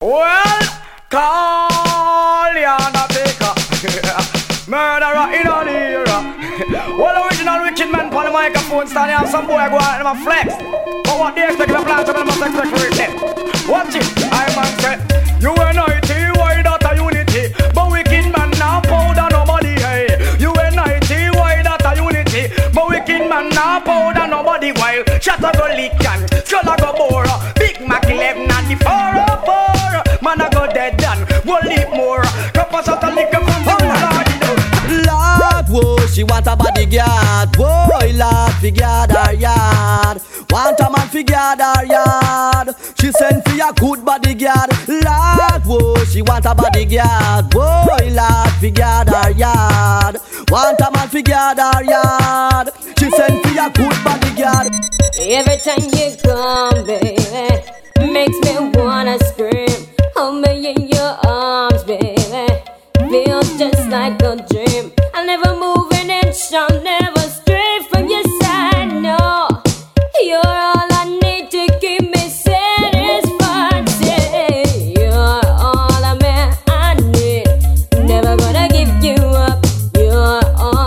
Well, call ya Undertaker. Murderer in the era. Well, original wicked man on the microphone standing on some boy go out and them flex. But what they expect if a plant them must expect for it. Watch it, I man say UNIT, why that a unity? But wicked man now powder nobody, hey. UNIT, why that a unity? But wicked man now powder nobody, while shut up go lick and skull a go bore. Big Mac 11 and the 404. Man a go dead done, go live more. Cup of salt and liquor from the Lord, whoa, she want a bodyguard. Whoa, Lord, figure her yard. Want a man figure her yard. She send for a good bodyguard. Lord, whoa, she want a bodyguard. Whoa, Lord, figure her yard. Want a man figure her yard. She send for a good bodyguard. Every time you come, baby, makes me wanna scream. Hold me in your arms, baby. Feels just like a dream. I'll never move an inch, I'll never stray from your side, no. You're all I need to keep me satisfied. Say, you're all I need. Never gonna give you up. You're all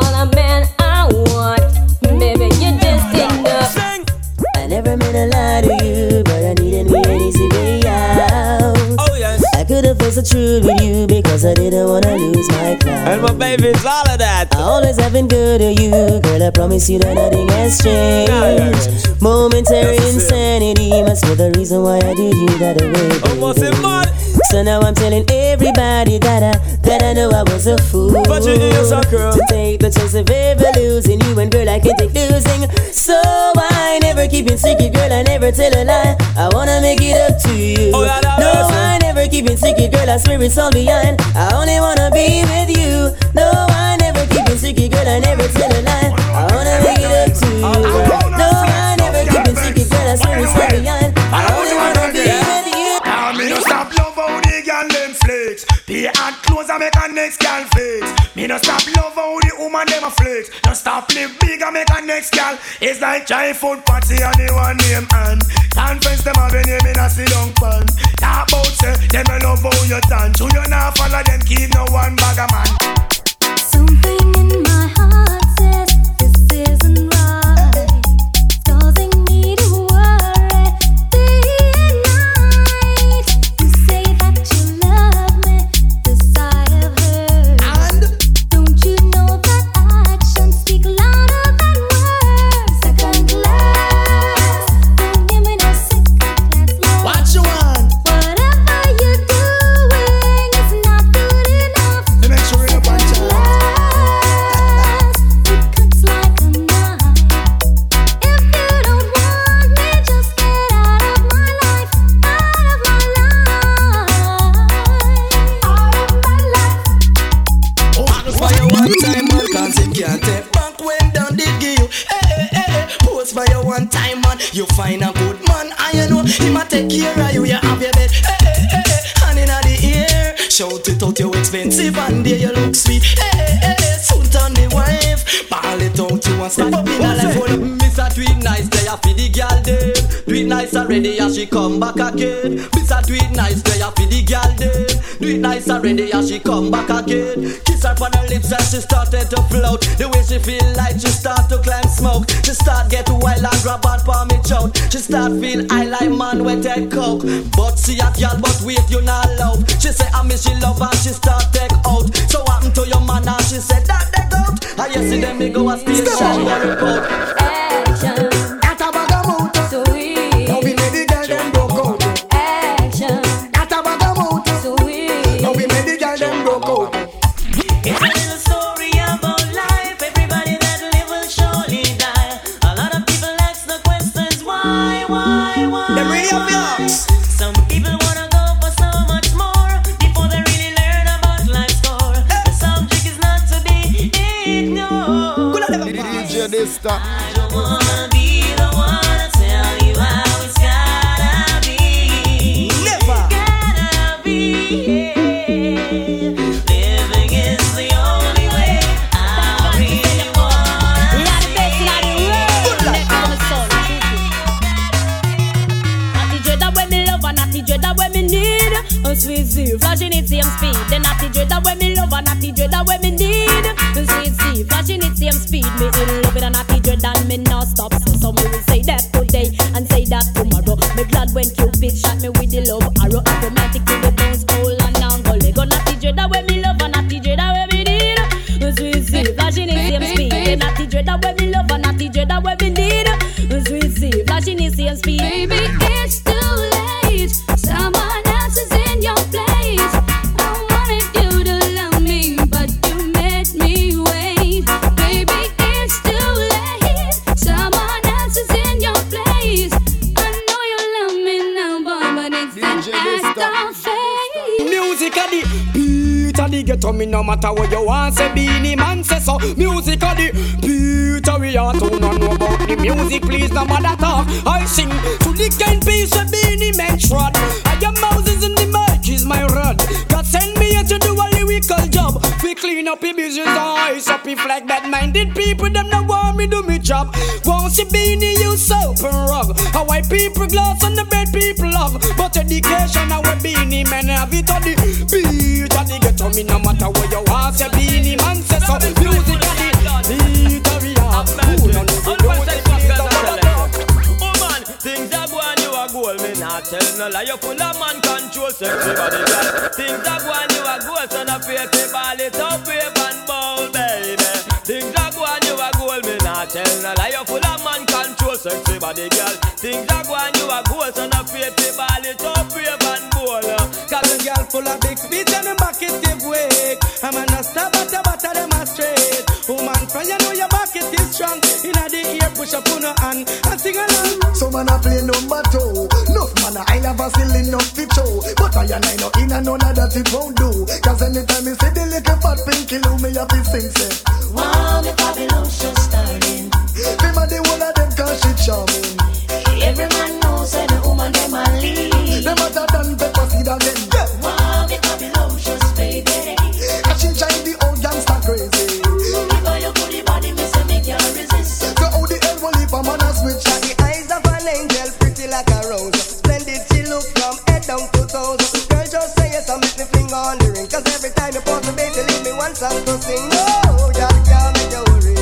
I want. Baby, you're just enough. I never meant to lie to you, but I needed me an easy way out. Oh yes, I could've faced the truth with you because I didn't wanna lose my clout. and my baby's all of that. I always have been good to you, girl. I promise you that nothing has changed. Momentary insanity must be the reason why I did you that way. Almost a month. So now I'm telling everybody that I know I was a fool. But you is a girl. To take the chance of ever losing you, and girl, I can't take losing. So I never keep it secret, girl. I never tell a lie. I wanna make it up to you. Oh, yeah, no, I never keep it secret, girl. I swear it's all behind. I only wanna be with you. No, I never keep it secret, girl. I never tell a lie. I wanna make it up to you. No, I never keep it secret, girl. I swear it's all behind. I only wanna be with you. Me no stop love how the girl them flex. Pay and clothes and make a next girl flex. Me no stop love how the woman them a flex. No stop live big and make a next girl. It's like giant food party and the one name and conference them have a name in a sit down pan. Talk about say them a love how you dance. You not follow them keep no one bag a man. Something in my heart says this isn't right. It's causing me to worry day and night. You say that you love me, this I have heard. And don't you know that actions speak louder than words? Second class, don't give me no second class love. What you want? Whatever you're doing is not good enough. They make sure you punch out. It cuts like a knife. If you don't want me, just get out of my life. Out of my life. Post by your one time man, cause it can't take back when down did give you. Post by your one time man, you find a good man, and you know he might take care of you, you have your bed. Hand in the ear, shout it out, you expensive, and there you look sweet. Soon turn the wife, ball it out, you want step up in a life. Miss a do it nice, they a feed the girl dead. Do it nice already, as she come back again. Miss a do it nice, they a feed the girl dead. Do it nice already, as she come back again. Kiss her on her lips and she started to float. The way she feel like she start to climb smoke. She start get wild and grab on for me chout. She start feel high like man with head coke. But see a girl, but wait you not love. She say I miss she love and she start take out. So what happened to your man and she said that they go. I you see them me go a station and report. Action, That a bag of motor. sweet. Now we made the girl them broke out. Action, That a bag of motor. sweet. Now we made the girl them broke out. It's a little story about life. Everybody that live will surely die. A lot of people ask the questions why. Them really have the ox. Some people wanna go for so much more before they really learn about life's score. The subject is not to be ignored. DJ this time. I don't wanna be the one to tell you how it's gotta be. Never. Gotta be. Living is the only way. I really wanna see. Natty dread that when me love and natty dread that when me need. Sweet Z, flashing it same speed. The natty dread that when me love and natty dread that when me need. Sweet Z, flashing it same speed. Me in love with a natty dread and me not stop. So some will say that today and say that tomorrow. Me glad when Cupid shot me with the love arrow. Automatic to the bones hole and angle. Go natty dread that when me love and natty dread that when me need. Sweet Z, flashing it same speed. The natty dread that when me love and natty dread that when me need. Sweet Z, flashing it same speed. Baby, it's too late. Someone else is in your place. I wanted you to love me, but you made me wait. Baby, it's too late. Someone else is in your place. I know you love me now, boy, but it's an act of faith. Music a the beat a the ghetto, me no matter what you want. Say Beenie Man say so. Music a the beat a we are to no know about the music. Please no matter talk. I sing to the kind piece of Beenie Man trod. I am Moses in the mic is my rod. God send me here to do a lyrical job. We clean up the business eyes up if like bad-minded people. Them no want me do me job. Won't see Beenie use soap and rug. How white people gloss and the bad people love. But education now we Beenie Man have it on the beat and the ghetto. Me no matter what you want. Say Beenie Man say so. Music and the beat of we have. Who don't know the music please don't bother talk. Oh man, things are going you a goal. Me not tell no lie. You full of man control. Sexy body girl. Things are going you a goal. So no fear to ball it up wave and bowl baby. Things are going you a goal. Me not tell no lie. You full of man control. Sexy body girl. Things are going you a goal. So no fear to ball it up wave and bowl. Cause a girl full of big speech and them back it give way. I'm a no stop at the butter them a straight. Woman from you know your back it is strong. Inna the ear push up on her hand and sing along. So man a play number 2. Enough man I never still enough to show. But I know inna none of that it won't do. Cause anytime you see the little fat pinky loo me have to sing say Wow, the Babylon show starting. Them a the whole of them cause she charming. Every man knows that the woman them a lead. Them a done pepper seed again. Wow, the Babylon show baby. And she drive the old gangster crazy. Because you put the body, me say me can't resist. So how the hell will leave a man a switch? The eyes of an angel pretty like a rose. Splendid she look from head down to toes. Girl just say yes and make me finger on the ring. Cause every time you pause the baby leave me one song to sing. No, girl can't make you worry.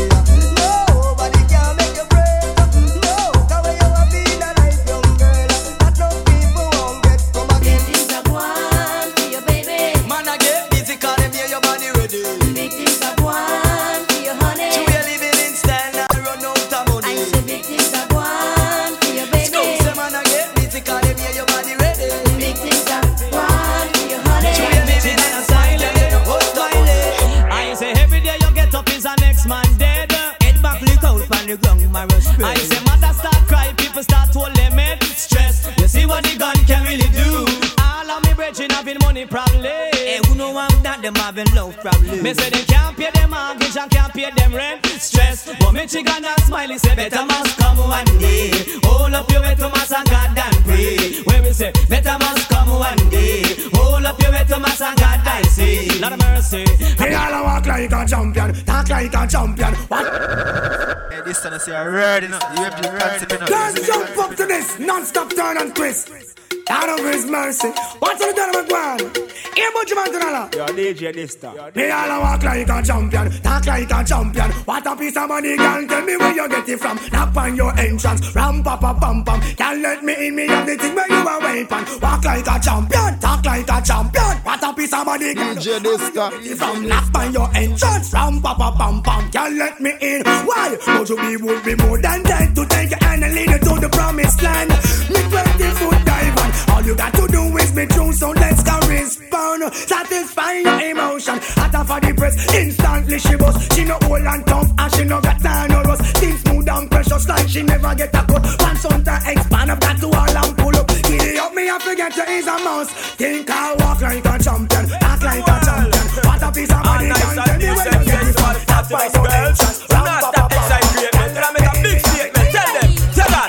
Nobody can make you break. No, cause when you have been a nice young girl that no people won't get come again. Things are going for your baby. Man I get busy cause them hear your body ready. Big things are going for your honey. You are living in style and run out of money. I say big things are going for your baby. Say man I get busy cause them hear your body ready. Big things are going for your honey. You are living in style and you hold my leg. I say every day you get up is a next man dead. Head back, look out from the ground, my respect. I say mother start cry, people start to limit stress. You see what the gun can really do. All of me brethren having money probably. Hey, who know I'm that them having love probably. Me say they can't pay them mortgage and can't pay them rent. Stress, but me chicken and smiley say better must come one day. Hold up your head to mass and God and pray. Where we say better must come one day. Hold up your head to mass and God and say Lord of mercy. They all walk like a champion, talk like a champion. What? Hey, this time I say I'm ready now. You have the concept enough. Let's jump up to this non-stop turn and twist. Out of His mercy. What's the done with one? Here, Butch Mantanala. Yo, DJ this time. They all walk like a champion, talk like a champion. What a piece of money, girl. Tell me where you get it from. Knock on your entrance, ram pa pa pam pam. Can't let me in, me have the thing where you are waiting. Walk like a champion, talk like a champion. What a piece of money, girl. DJ this time. From knock on your entrance, ram pa pa pam pam. Can't let me in. Why? But you be would be more than dead to take your hand and lead you to the promised land. Me 20-foot dive on. All you got to do is be true, so let's go respond. Satisfy your emotion. Hotter for the press, instantly she bust. She no old and tough, and she no got time no rust. Things smooth and precious like she never get a cut. Pants on to expand, I've got to all and pull up. Giddy up, me I forget you is a mouse. Think I walk like a champion, act like a champion. What a piece of money, can tell me where you get it from. That's why your entrance, ram pa pa pa. Tell them, tell that. Me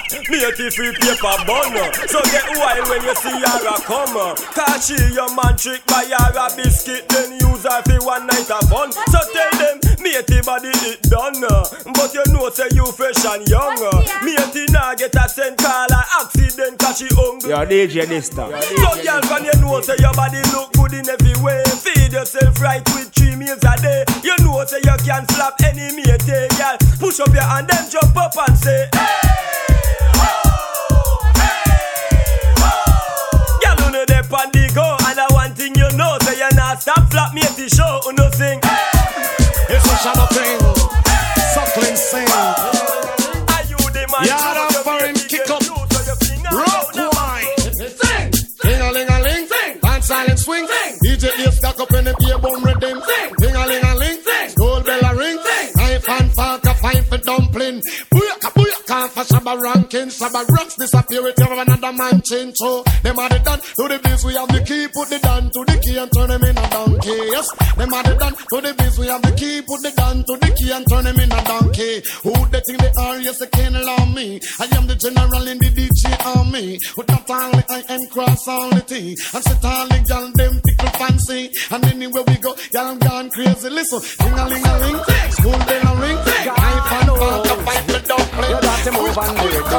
matey free paper bun. So get wild when you see her a come. Cause she your man trick by her a biscuit, then use her for one night of fun. So tell them, matey body it done. But you know say you fresh and young. Matey nah get a cent call or accident cause she hungry. Yo, DJ this time. So girl when you know say your body look good in every way. Feed yourself right with 3 meals a day. You know say you can slap any matey, girl. Push up your hand and jump up and say hey, oh, hey, oh. Girl you know they pan the go. And I one thing you know say you not stop flap matey show. You know sing It's a shadow thing, suckling sing. Are you the man? Yada foreign kick up, rock wine. Sing, ding-a-ling-a-ling, sing, dance silent swing, sing. DJ ear stack up in the beer bum rhythm, sing, ding-a-ling-a-ling, sing, gold bell a ring, sing, knife and fork a fight for dumpling. Booyaka, booyaka, for Shabba ranking, Shabba rocks disappear with you another man change. So them are the done to the biz, we have the key, put the down to the key and turn them in a donkey. Yes, them are the done to the biz, we have the key, put the down to the key and turn them in a donkey. Who they think they are? Yes, they can't allow me. I am the general in the DJ army. With that only I and cross all the T. And sit all the gal them tickle fancy. And anywhere we go, y'all gone crazy. Listen, ding-a-ling-a-ling, school bell a ring, knife and fork a fight for dumpling. You got to move on with it.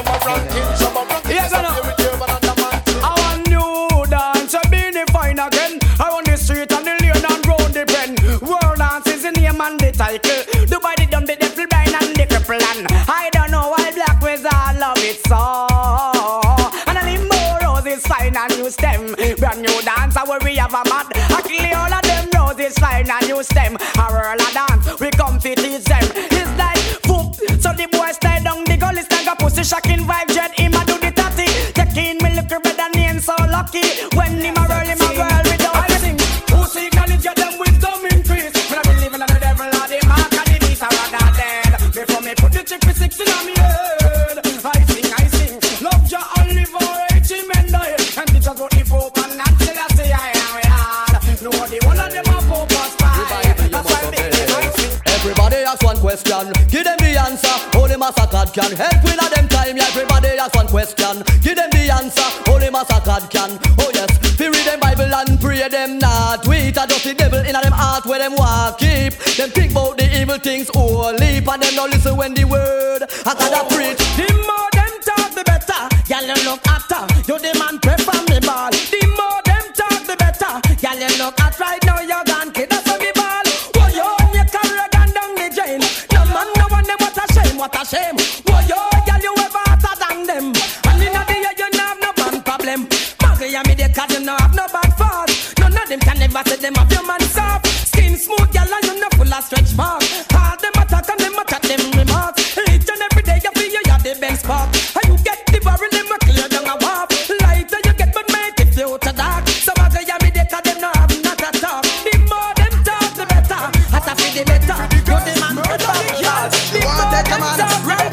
I want new dance, I be the fine again. I want the street and the lane and round the pen. World dance is the name and the title. Dubai the dumb, the devil blind and the cripple. And I don't know why black with all love it so. And a limbo roses fine and new stem. Brand new dance, where we have a mad. I kill all of them roses fine and new stem. A whirl a dance, we come to teach them. It's like whoop, so the boys stay down the gully, stand up, pussy shocking vibe, jet him a do the tatty. Taking me look better name so lucky. When him a whirl without anything. Pussy can it get them wisdom increase. When I believe in the devil or the mark and the beast, I rather dead. Before me put the chick for 16 on me head. I sing, love ya only for 80 men die. And teach us what the Pope and until I say I am hard. No, the one of them are Pope or spy. That's why I sing. Everybody ask one question, give them the answer. Only Massacre can help with them time. Yeah, everybody ask one question, give them the answer. Only Massacre can. Oh yes, we read them Bible and pray them not. We eat a dirty devil in them heart where them walk keep. Them think about the evil things only, and them don't listen when the word I gotta preach. The more them talk, the better. Y'all you look after. You the man pray from me ball. The more them talk, the better. Y'all you look at right now. You're gone kid. That's on me ball. Whoa yo, you carry gun down the drain. No man, no one them. What a shame, what a shame. Whoa yo, y'all you ever hotter than them. And in the year you no have no man problem. Maggie and me they cause you no have no bad fault. None of them can never say them have your man soft. Skin smooth, y'all and you no full of stretch mark. All them attack and them attack them remarks. Each and every day you feel you have the best spark. And you get the barrel them a clear down a warp. Lighter you get but make it feel to dark. So Maggie and me they cause them no have not a talk. The more them talk the better. As I feel the better. You the man the better. The more them talk run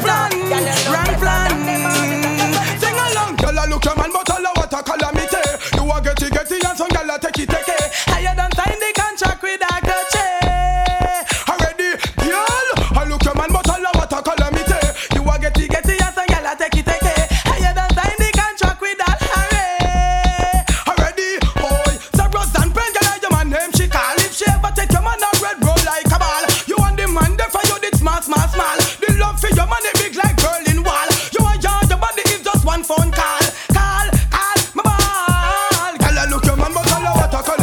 plan. Sing along. Girl, I look your man, but all what a calamity. You a get it, and some girl a take it. I don't sign the contract with a Gucci. Already, girl, I look your man, but all what a calamity. You a get it, and some girl a take it. I don't sign the contract with that Harry. Already, boy, so Rose and Brent, girl, your man name she call. If she ever take your man a red roll like a ball. You want the man there for you, it's small. The love for your man, it big like Berlin Wall. You want your body is just one phone call. Call, my ball. Girl, I look your man, but all what a calamity.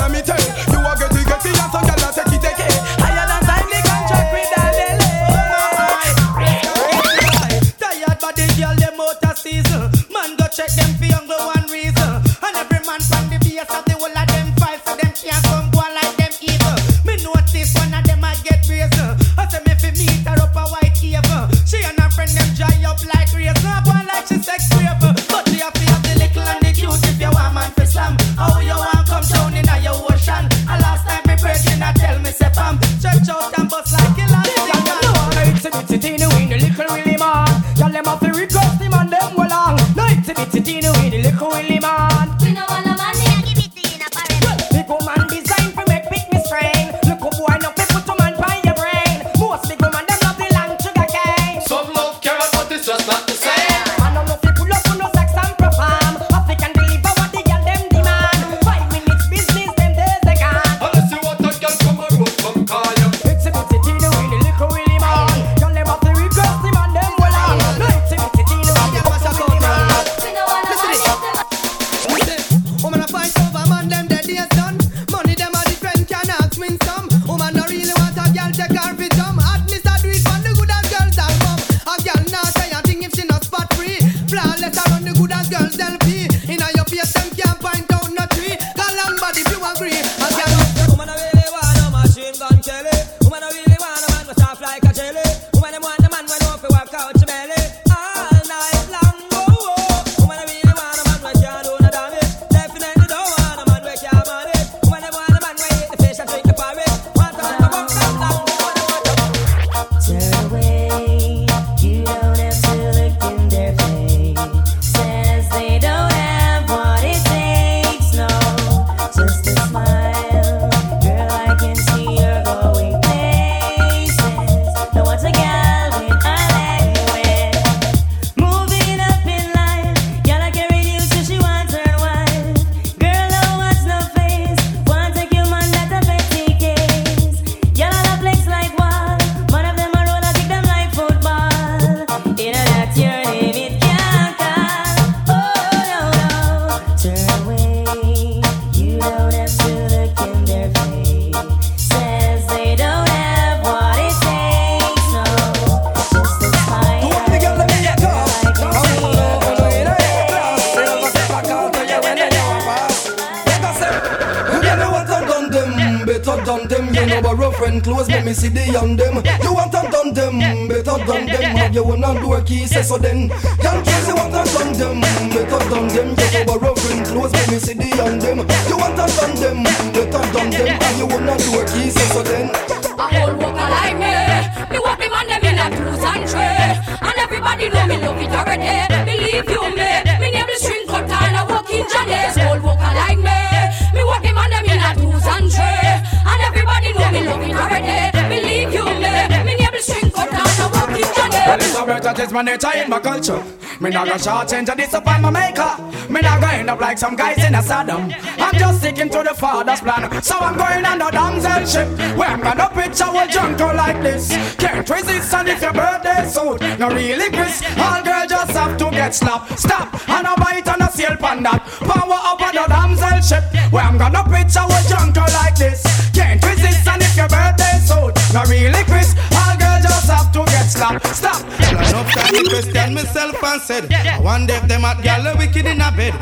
done them. You know a rough and close, let me see the on them. You want to done them, better done them. Have you one on door key, say so then. Young kids, you want to done them, better done them. You know a rough and close, let me see the on them. You want to done them, better done them. Have you one on door key, say so then. A whole walker like me walk them and them in a cruise and tray. And everybody know me love it already. Believe you me name is string cut and I walk in Janice. Whole walker like me walk them and them in a cruise and tray. And everybody know me love it already. Believe you me name is string cut and I walk in Janice. Well, it's a birth that is my nature in my culture. Me not gonna short change and disappoint my maker. Me not gonna end up like some guys in a Saddam. I'm just sticking to the father's plan. So I'm going on the damsel ship, where I'm gonna pitch our junk like this. Can't resist and if your birthday suit no really Chris. All girls just have to get slapped. Stop and a bite and a sail pan that. Power up on the damsel ship, where I'm gonna pitch our junk like this. Can't resist and if your birthday suit no really Chris. All girls just have to get slapped. Stop. Well, enough time to question myself and said, I wonder if them at gal are wicked in a bed.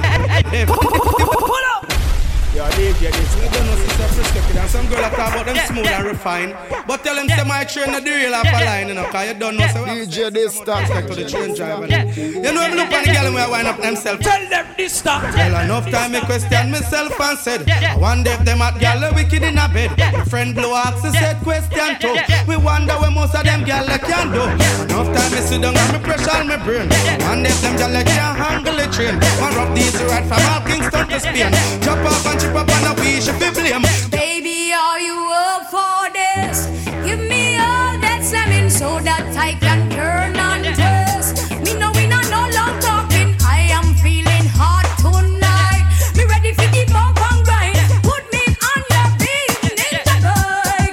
Pull up! Yo, DJ, this we don't know sister Frisco and some girl that talk about them smooth and refined. But tell them say my train the real off a line, you know, cause you don't know. So DJ, this start to the train driver. You know, I'm looking at the gal and we wind up themselves. Tell them this stop. Well, enough time I question myself and said, I wonder if them at gal are wicked in a bed. My friend Blue Ox said question too. We wonder where most of them gal can do. Enough time I sit down and me pressure on my brain. Wonder if them gal can't handle the train. Man rough these right from all Kingston to Spain. Drop off and chip up on the beach if you blame. Baby, are you up for this? Give me all that slamming so that I can turn and twist. Me know we not no long talking. I am feeling hot tonight. Me ready for the bump and grind. Put me on your feet in the bike.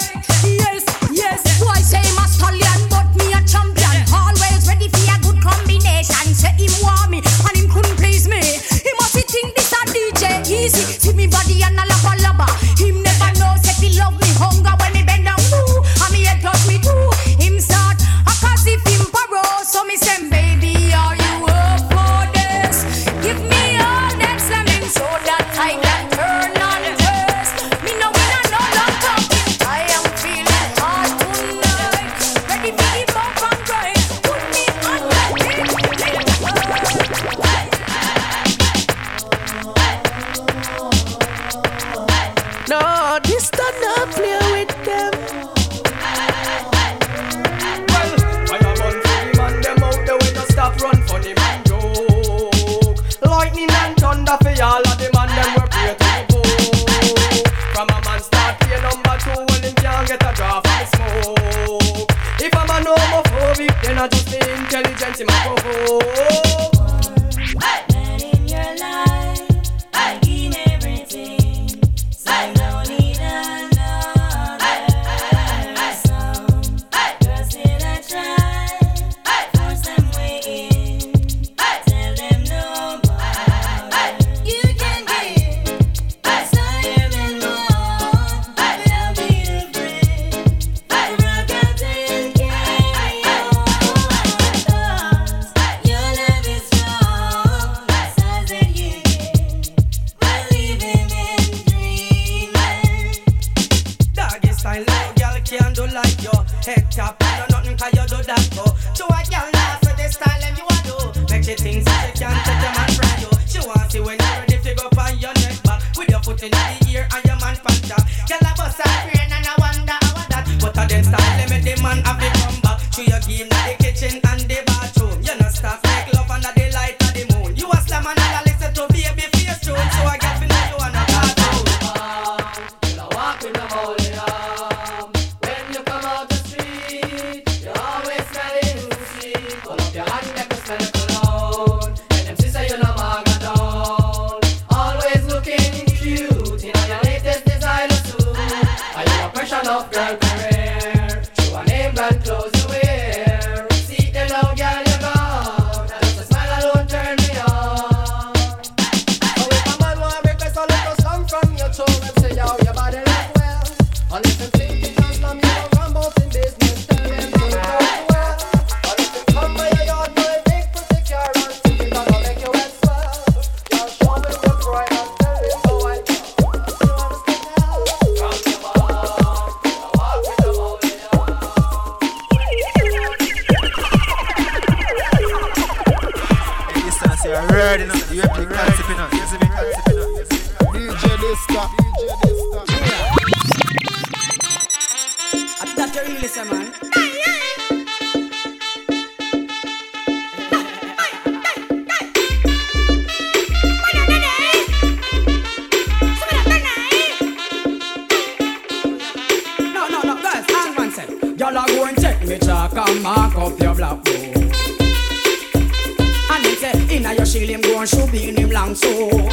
Yes, boy say my stallion, but me a champion. Always ready for a good combination. Say him want me and him couldn't please me. He must think this a DJ easy. See me body and a lava lava. Him never know if he love me hunger when me bend down woo. And me head touch me too. Him start a cause if him paro. So me say baby are you up for this? Give me all that slamming so that I can turn on twist. Me know we not no long talking. I am feeling hot tonight. Ready for the bump and grind. Put me on that beat. No, this don't not play with them. Well, I am on for the man, them out there when you stop run for the man joke. Lightning and thunder for all of the man, them were pray to the book. From a man start pay number 2, well him can't get a draw from the smoke. If a man homophobic, then I just be intelligent in my provoke. Man in your life, I give everything. So don't need another song. Girls still I try, force them way in. Tell them no more. You can give, that's all your men want. I'll be the friend, rock out and carry on. Thoughts, your love is strong. That's all that you give. We're living in dreaming. Doggy style, no girl can do like you. Head tap, no nothing can you do that go. To a girl now for the style and you a do. Make she think that she can't take your man from you. She want see when you're ready to go on your neck back. With your foot in the ear and your man punch up. Girl a bust a brain and I wonder how that. But a them style, let me the man have to come back. To your game, the kitchen and the bathroom. You not stop, make love under the light of the moon. You a slam and I listen to baby face tune. So I get to know you and a cartoon. Walk with the holy arm. When you come out the street, you always smelling sweet. Pull up your hand, make us smell the cologne. And them sister you know maga down. Always looking cute in your latest designer suit. Are you a pressure of girl career? Show a name brand clothes you wear. See them now, girl, you gone. Just a smile alone turn me on. So if a man want request a little song from your tone, them say yo, your body look well. And if them think it just from you, come both in business, tell them to go well. And if them come by your yard, boy, think pretty care and think it gonna make you wet swell. Just show me what's right and tell me how I feel. You understand now? That you really say, man. No, guys, hang on, say. Y'all are going to take me chalk and mark up your blackboard. And he say, inna your shield him go and shoot in him long sword.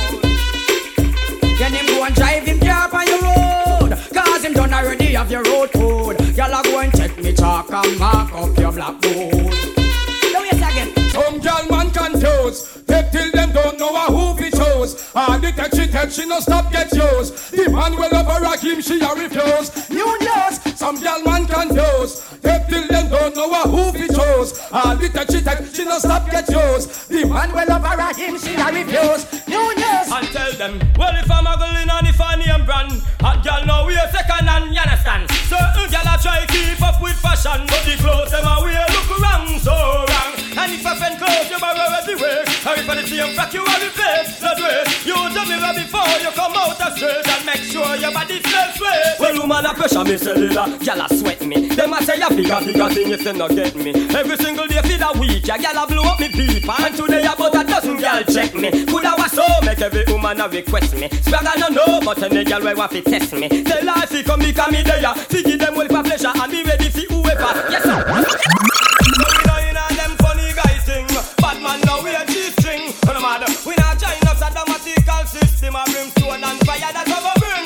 Then him go and drive him car on your road, cause him done already have your road code. Y'all are going to take me chalk and mark up your blackboard. Now yes again. Some girl man confused. Take till them don't know who fi chose. The tech she no stop get used. The man well over a him she a refuse. New news. Some girl man confused. Take till them don't know who fi chose. The tech she no stop get used. The man well over a him she a refuse. New news. And tell them, well if I'm a girl in and if I name brand, hot girl now we a second hand, you understand? Certain girl a try keep up with fashion, but the clothes them a wear look wrong, so wrong. And if I find clothes you borrow everywhere, or if I the same frack you a replace, no dress. You do me right before you come out of straight, and make sure your body smells sweet. Well woman a pressure me cellular, girl a sweat me. Them a say a bigger thing if they not get me. Every single day for the week, a girl a blow up me beef, and today about a dozen girl check me. Could I was so make every woman a request me. Swag I don't know, but any girl will want to test me. Tell her if you come become me there, to give them well for pleasure and be ready for whoever. Yes sir. So we know you know them funny guys thing. Bad man now we a G-string. No matter, we not join up a dramatical system. A brimstone and fire that over bring.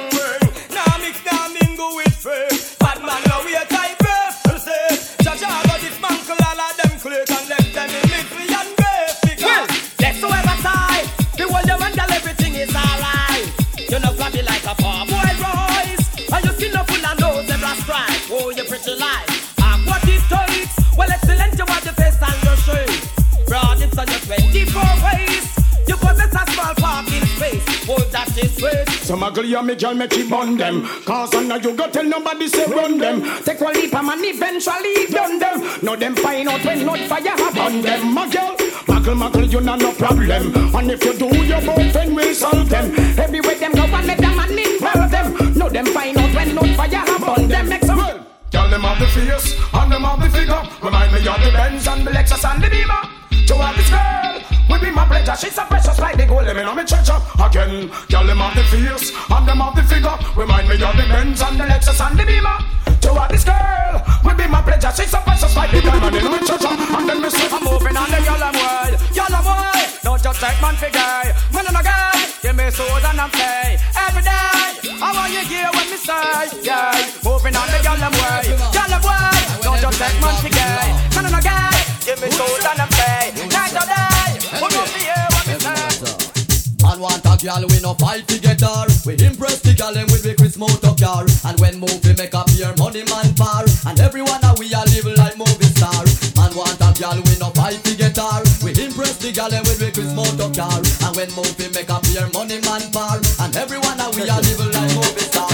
Now mix, now mingle with free. Bad man now we a type of say. Cha-cha got dismantle all of them click and left them in misery and grave. Well, that's whoever side. The world them and everything is alright. You know flabby like a poor boy Royce. And you still no full and nose every strike. Oh, you pretty life. What it takes. Well, excellent, you have the face and your shape. Broad hips on your 24 waist. You possess a small parking space. Oh, that is sweet. Some ugly and me girl make you bun them. Cause I know you go tell nobody say run them. Take one leap and eventually done them. Now them find out when not fire have on them. My girl, muggle, you know no problem. And if you do, your boyfriend will solve them. Everywhere them go and let them and involve them. Now them find out when not fire have on them. Make some well. Girl, them have the face and them have the figure. Remind me of the Benz and the Lexus and the Beamer. To have this girl will be my pleasure. She's so precious like the gold. Let me know me treasure again. Girl, them have the face and them have the figure. Remind me of the Benz and the Lexus and the Beamer. To have this girl will be my pleasure. She's so precious like the gold. Let me know me treasure. And then me say I'm moving on the yellow world. Yellow world. Don't just take man for guy. Man and a guy. Give me soul and I'm play. Every day I want you hear what me say. Yeah. Moving on the yellow world. Yellow world. Don't just take man for guy. Man and a guy. Give me soul and I'm play. Night or day. We don't hear what me say. And want a girl we no fight together. We impress the girl and we make Chris motor car. And when movie make up here money man par. And everyone that we are live like movie star. Man want a girl we no fight together. We impress the girl and we make Chris motor car. And when movie make up here money man par. And everyone that we are live like movie star.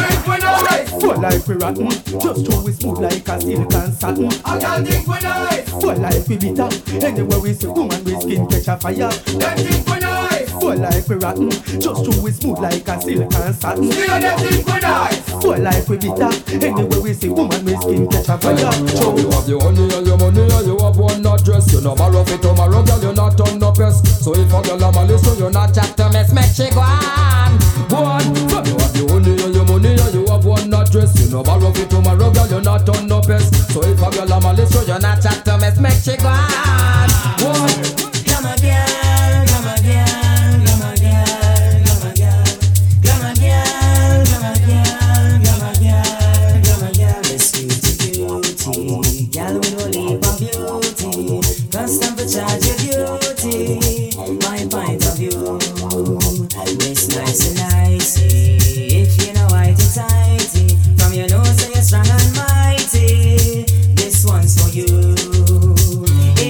Full like we rotten, just throw we smooth like a silk and satin. I can't think we nice. Full like we bitter, anywhere we see woman we skin catch a fire. Can't think we nice. Full like we rotten, just throw we smooth like a silk and satin. Still don't think we nice. Full like we bitter, anywhere we see woman we skin catch a fire. So you have your honey and your money and you have one address. You no borrow it tomorrow, girl, you not on no pest. So if a girl a malice, so you not chat to mess, make she go on. So you have your honey and your money and you have one address. You no borrow it tomorrow, girl, you not on no pest. So if a girl a malice, so you not chat to mess, make she go on. Come again, come again, come again, come again, come again, come again, come again, come again. Let's beauty, girl, we no leave our beauty. Custom for charge your beauty. My point of view, it's nice and nicey. If you know whitey tighty, from your nose so you're strong and mighty. This one's for you.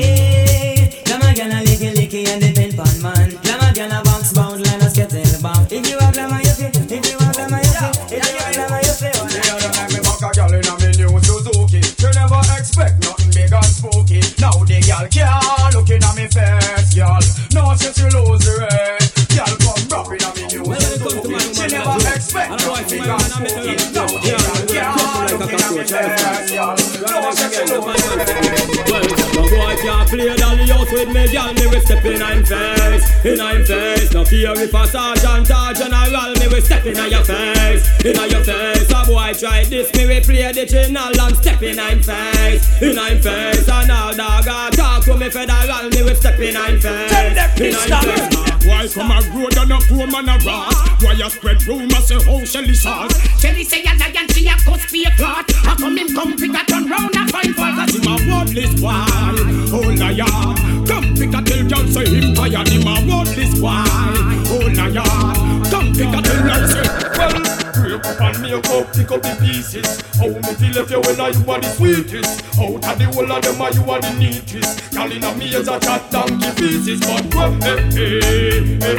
No boy can't play dolly house with me, girl. Me will step in I'm face. No fear if a sergeant or general, me will step in your face. A boy try this, me will play the channel and step in I'm face. And now dog talk to me federal, me will step in I'm face. Why come a road and a poor man a rat? Why you spread rumors say how Shelly sauce? Shelly say a lion, she a cuss be a clot. How come him come pick a turn round and find fault? Cause him a worthless boy, oh liar. Come pick a tell y'all say him tired. Him a worthless boy, oh liar. Come pick a tell y'all say, well, break up and make up, pick up the pieces. How me feel if you when you are the sweetest? Out of the whole of them you are the neatest. Y'all in a me as a cat donkey pieces. But hey.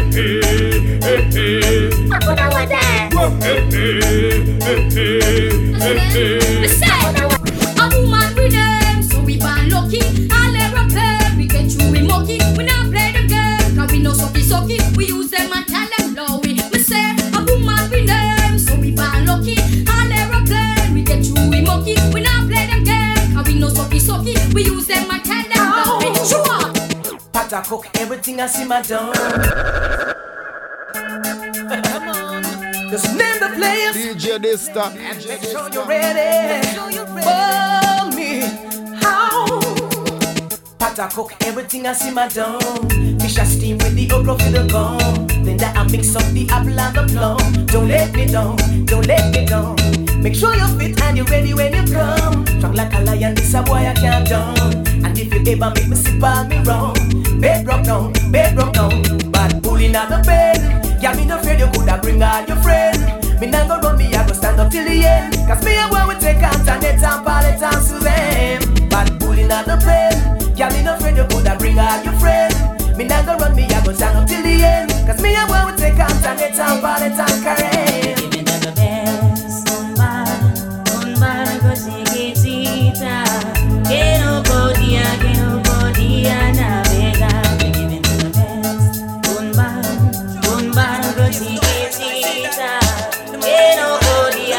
A woman with them, so we born lucky. All aeroplane, we get through we mucky. We not play the game, cause we no sucky. We use them and tell them lowy. Me say, a woman with them, so we born lucky. All aeroplane, we get through we mucky. We not play the game, cause we no sucky. We use them and tell them lowy. Sure. Pot I cook everything I see my done. Come on. Just name the players. DJ Dysta. Make sure you're ready. For me. How? Pot I cook everything I see my done. Fish I steam with the okra for the gum. Then that I mix up the apple and the plum. Don't let me down. Make sure you're fit and you're ready when you come. Strong like a lion, this a boy I can't done. And if you ever make me sip on me wrong, bed broke down. Bad pulling out the bed. Yeah, me no afraid you coulda bring all your friend. Me not go run, me I go stand up till the end. Cause me and boy we take Antoinette and Paulette and Suzanne. Bad pulling out the bed. Yeah, me no afraid you coulda bring all your friend. Me not go run, me I go stand up till the end. Cause me and boy we take Antoinette and Paulette and Karen. Give me the best, un bar cosita. Que no podía navegar. Give me the best, un bar cosita. Que no podía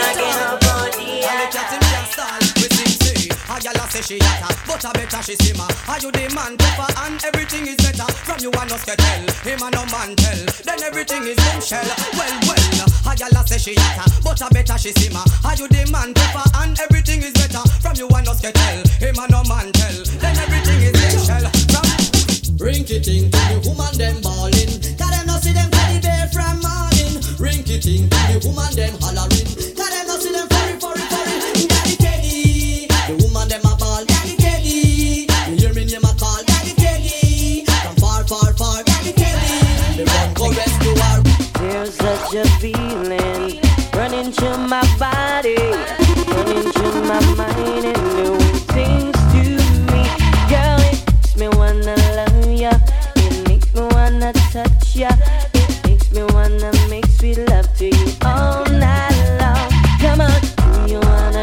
say she hotter, but I better she simmer. Are you the man tougher and everything is better? From you and us to tell, him and no man tell. Then everything is bombshell. Well, a gyal say she hotter, but I better she simmer. Are you the man tougher and everything is better? From you and us to tell, him and no man tell. Then everything is bombshell. Rinky-ting to the woman them ballin'. Cause them no see them teddy bear from morning. Rinky-ting to the woman them hollering. Cause them no see them furry. Daddy Teddy, the woman them a ball. Daddy Teddy, you hear me name a call. Daddy Teddy, from far, Daddy Teddy. The run go rescue her. There's such a feeling running through my body, running through my mind and doing things to me. Girl, it makes me wanna love ya. It makes me wanna touch ya. It makes me wanna make sweet love to you all night long. Come on, do you wanna?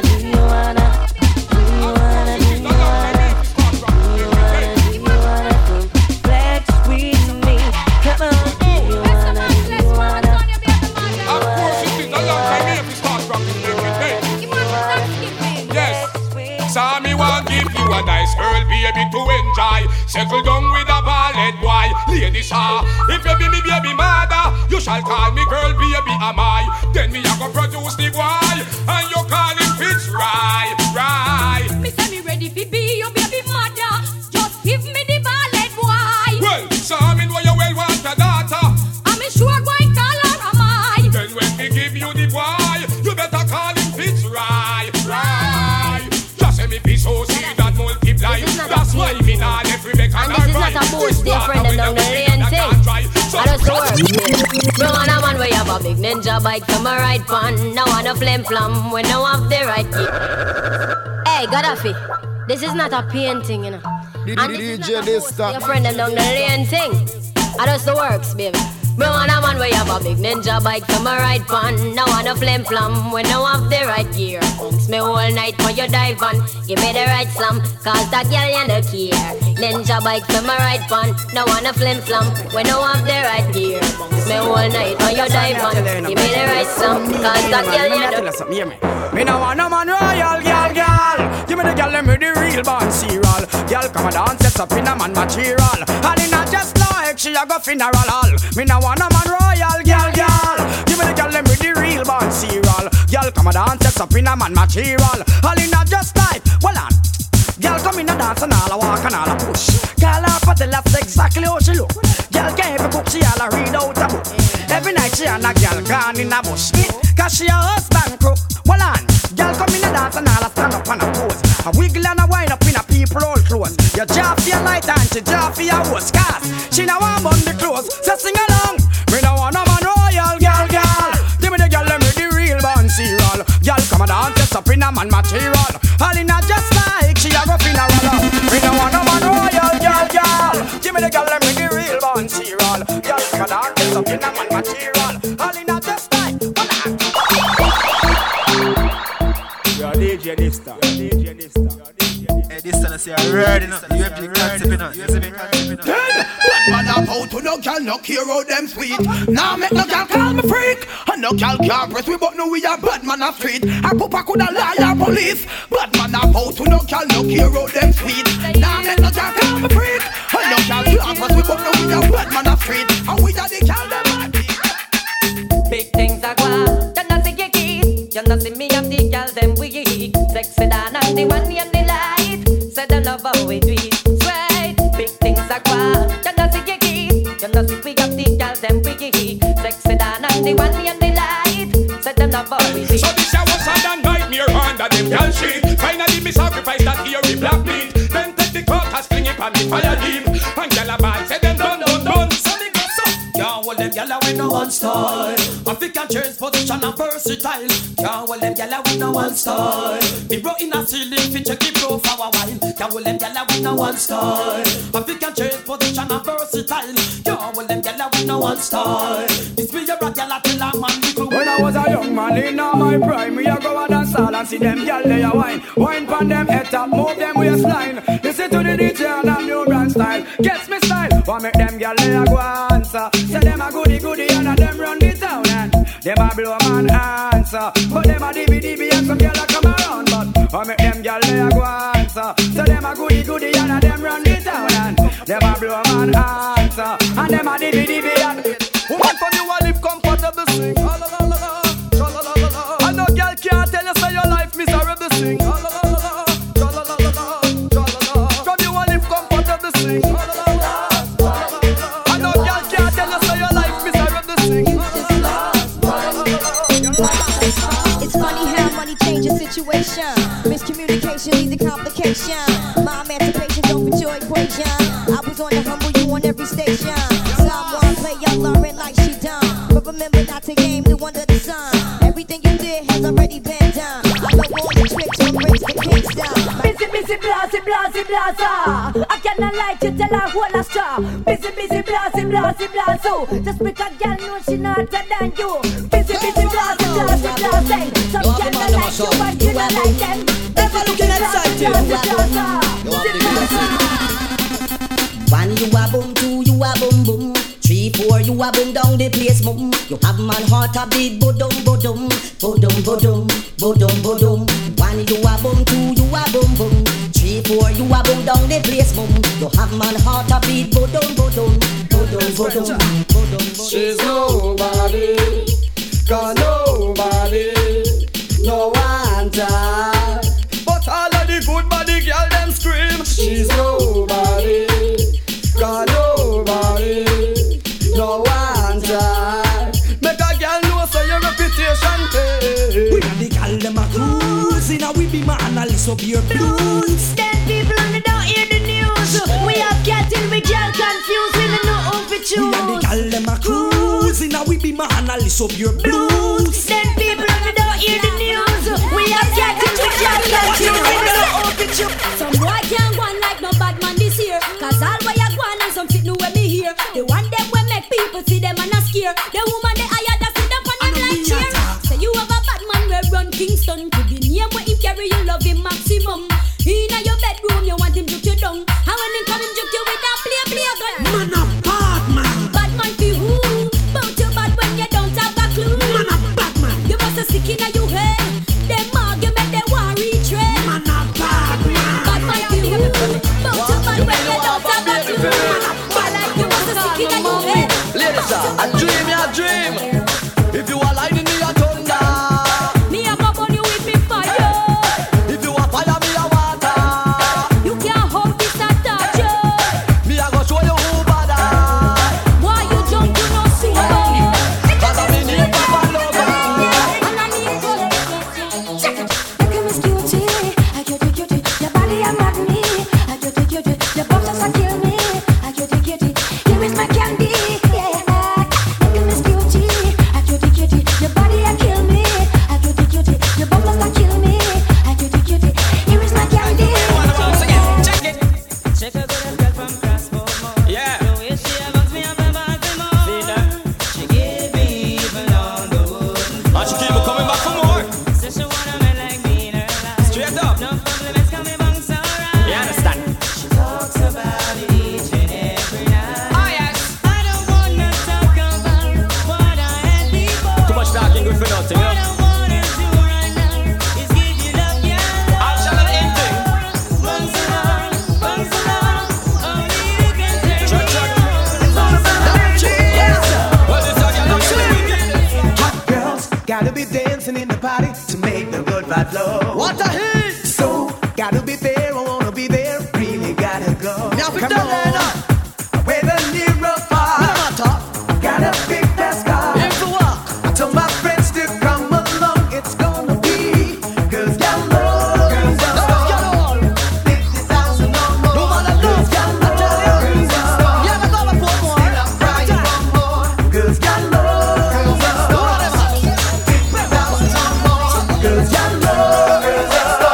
Come flex with me? Come on, do you wanna? Of course it is a long time if you start rocking everything. Yes, so me want give you a nice girl baby to enjoy. Settle down with a ballad boy. Ladies, if you be me baby mother, you shall call me girl baby am I. Then me a go produce the boy, and you call him Fitzroy. Me say me ready fi be your baby mother. Just give me the ballad boy. Well, so I mean why you well want a daughter. I'm sure going call her am I. Then when me give you the boy, you better call him Fitzroy. Just say me be so see that multiply. That's why me not let Rebecca and this is not a boost different than down the lane thing. I just work. Me want a man where you have a big ninja bike from a ride pan. No want a flim flam when no have the right key. Hey, Gaddafi, this is not a painting, you know. And this is not a boost your friend them down the lane thing. I just the works, baby. Me want a man where have a big ninja bike to my ride pan. No want a flim flam when no have the right gear. Bounce me all night for your dive on. Give me the right slam, cause that girl you no care. Ninja bike to my ride pan. No want a flim flam when no have the right gear. Bounce me all night for your dive on. Give me the right slam, cause that girl you no. Me no want no man royal, girl. Give me the girl them with the real band serial. Girl come and dance, set up in a man material. And it not just like she a go funeral hall. Me no want no man royal, girl. Give me the girl them with the real band serial. Girl come and dance, set up in a man material. And it not just like, well on. Girl come in a dance and all a walk and all a push. Call her for tell that's exactly how she look. Girl can't even cook, she all a read out a book. Every night she and a girl gone in a bush. Cause she a husband crook. Well on. Girl come in a dance and all a stand up and a pose. A wiggle and a wind up in a people all clothes. You jaw for your light and she jaw for your host. Cause she no want bun the clothes. So sing along. Me no want no man royal, girl. Give me the girl them with the real band serial. Girl come and dance, just up in a man material. All in a just like she a go funeral. Me no want no man royal, girl. Give me the girl them with the real band serial. Girl come and dance, just up in a man material. All in a just like, you're DJ Nista. Hey, this time I say I ready now. You have the concept now. You have the concept now. Man up out to no girl, no care how them sweet. Now make no girl call me freak. And no girl can't press we but no we a bad man a street. I papa coulda liar police. Bad man up out to no girl, no care how them sweet. Now make no girl call me freak. And no girl can't press we but no we a bad man a street. And we a the girl them a beat. Big things are gone. You know see you keep. You know see me and the girl them we eat. Sexy down and the one in the light. Say the love how we do it. Sweet. Big things are gone. You know see you keep. You know see we have the girl them we eat. Sexy down and the one in the light. Say the love how we do it. So this year was sad and nightmare under them girl shit. Finally me sacrifice that here we black meat. Then take the caucus, fling it on the fire deep. And girl a ball say them done. So me go so. Can't hold them gyal with no one style. African change position and versatile. Can't hold them gyal with no one style. Me bro in a ceiling fi check it flow for a while. Can't hold them gyal with no one style. African change position and versatile. Can't hold them gyal with no one style. This me a rock gyal tell a man the clue. When I was a young man in my prime, me a go a dance hall and see them gyal they a wine. Wine pon them head top, move them waistline. Listen to the DJ and a new brand style. Gets me style, want make them gyal they a go answer. Say them a goody and a them run the town and them a blow man answer. But them a DB and some gyal a come around. But want make them gyal they a go answer. Say them a goody and a them run the town and them a blow man answer. And them a DB and woman from you a live comfortable sing. I know girl can't tell you say your life miserable sing. From you a live comfortable sing. I know girl can't tell you say your life miserable sing. It's funny how money changes situation. Miscommunication leads to complication. My emancipation don't fit your equation. I was on the humble, you on every station. Someone play your learning like she done. But remember not to game the under the sun. Everything you did has already been done. I know all the tricks to raise the Kingston. Busy, blaza. I cannot lie to tell her whole a star. Busy, blaza. Just because girl know she not hotter than you. Busy, blaza. Some cannot like you, but you don't like them. Never looking at blaza. One you a boom, two you a boom boom, 3, 4 you a boom down the place boom. You have man heart a beat bodum. One you a boom, two you a boom boom, 3, 4 you a boom down the place boom. You have man heart a beat bodum. She's nobody, got nobody, no one time. But all of the good body girl them scream. She's nobody, got nobody, no one time. Make a girl know so your reputation pay. We got the girl them a cruising, and we be my analyst of your blues. Then people on the don't hear the news. We have cattle, we can't confuse. We don't know who we choose. We got the girl them a cruising, and we be my analyst of your blues. Then people on the don't hear the news. We have cattle, we can't confuse. We don't know who we choose. Some boy can't go on like no bad man this year. Cause all boy a go on and some fit know when me hear. The one them will make people see them and a care. The woman they hired that sit up on them like chair. Say you have a bad man where run Kingston. To the name where him carry you love him maximum. Inna your bedroom you want him juke you down. And when him come him juke you with that play gun. Man a bad man. Bad man for who? Bout you bad when you don't have a clue. Man a bad man. You must a sick inna your head. Them argument they want retread. Man a bad man. Bad man for who? Bout you bad when you don't have a clue. You must a sick inna your head. Ladies, I dream. If you are lightning, me a thunder. Me a go burn you with me fire. If you are fire, me a water. You can't hold this a touch you. Me a go show you who bada. Why you jump to no super? Cause I'm in here for lover. And I need to check it. Look at Miss Cutie, I cutie. Your body a mad me, I cutie. Your bones just a kill me, I cutie. Here is my candy, yeah. Look at Miss Cutie, I cutie. Your body a kill me, I cutie. Your bones just a kill me, I cutie. Here is my candy. Check it. Check a good girl from Crossbone. Yeah. The way she bugs me up and bugs me more. See that? She give me even on the wood. And she keep me coming back for more. Says she wanna me like me in her life. Straight up. No compliments can be bang so right. You understand? She talks about it each and every night. Oh yes. I don't wanna talk about what I had before. Too much talking good for nothing, What yeah? I wanna do right now is give you love, yeah. I'll shall have anything. Bungs along, only you can take Check, me check. on. Well, this again, I'm saying. Hot girls gotta be dancing in the party to make the good vibe flow. What a hit! So gotta be there, I wanna be there. Really gotta go. Now come on, with a near far. Gotta pick that scar. I told my friends to come along. It's gonna be girls down low. Girls down low. 50,000 or more. No matter girls down low. Girls down low. Yeah, I'm gonna put more. Still I'm crying for more. Girls down low. Girls down low. 50,000 or more. Girls down low. Girls down low.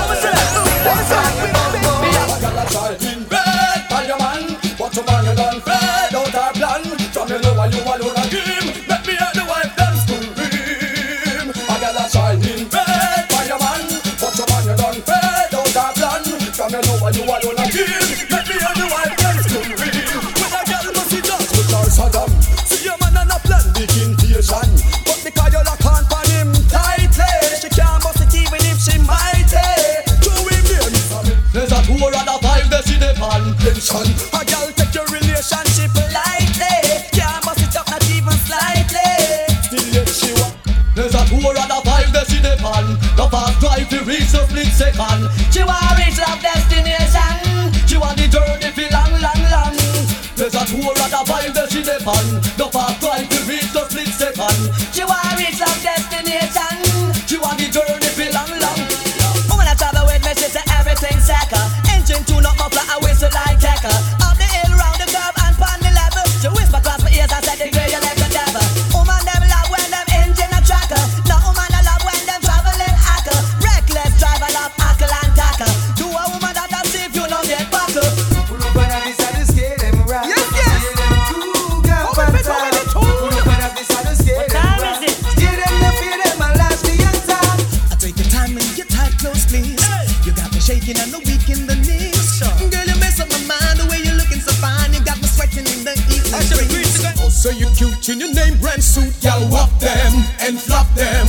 What you man you done fed out our plan. From you know why you alone a game. Let me hear the wife them scream. I got a child in bed by your man. What you man you done fed out our plan. From you know why you alone a game. Let me hear the wife them scream. When a girl must see dance with her Saddam. See your man and a plan big invasion. But because you lock on for him tightly, she can't bust it even if she mighty. To him there, there's a 2 or a 5 that she depend pension. A girl take your relationship lightly. Can't bust it up not even slightly. Still yet she want. There's a 2 or a 5 that she depend. The fast drive to reach the split second. She want reach love destination. She want the journey feel long. There's a 2 or a 5 that she depend. The fast drive to reach the split second. She want reach love destination. She want the journey feel long. When I travel with me, she say everything's second. Engine tune up, muffler, I whistle like Tekka. Up the hill, round the curve, and pon the level. She whisper across my ears, I said the girl you like the devil. Woman them love when them engine a tracker. No woman I love when them traveling hacker. Reckless driver love hackle and tackle. Do a woman that I see if you don't get buckle. Pull up and have this and scare them right. Yes. Scare them too, girl, fantastic. Pull up and have this and scare them right. Scare them, no fear them, and last the attack. I take your time and get tight, close, please. You got me shaking and no weak in the knees. Girl, you mess up my mind the way you're looking so fine. You got me sweating in the evening breeze. Oh, say you cute in your name brand suit. Y'all whop them and flop them.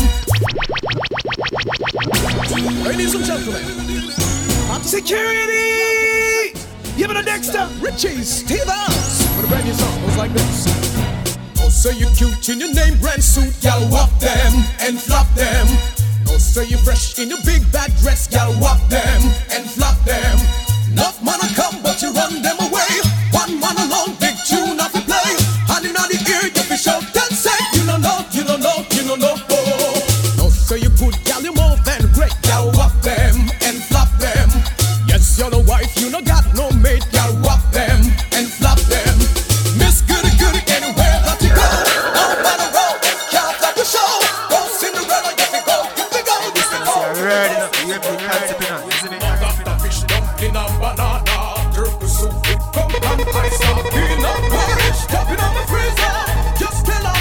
Ladies and gentlemen, Security! Give it a Dexter, Richie, Stevens. for the brand new song goes like this. Oh, say you cute in your name brand suit. Y'all whop them and flop them. Oh, say you fresh in your big bad dress. Y'all whop them and flop them. Enough man come, but you run them away. One man alone, big tune off the play. And in the ear, you be shout and say, you don't know. Oh, say you good, gal, you more than great. Y'all whop them and flop them. Yes, you're the wife, you no got no mate. Y'all whop them and flop them. Miss Goody Goody, anywhere that you go. No matter road, can't stop the show. Go Cinderella, get me go. This is ready now. You have to concept now. You see me? Fish dumpling and banana. Turkey soup, come and ice up. Peanut porridge, top in on the freezer. Just tell her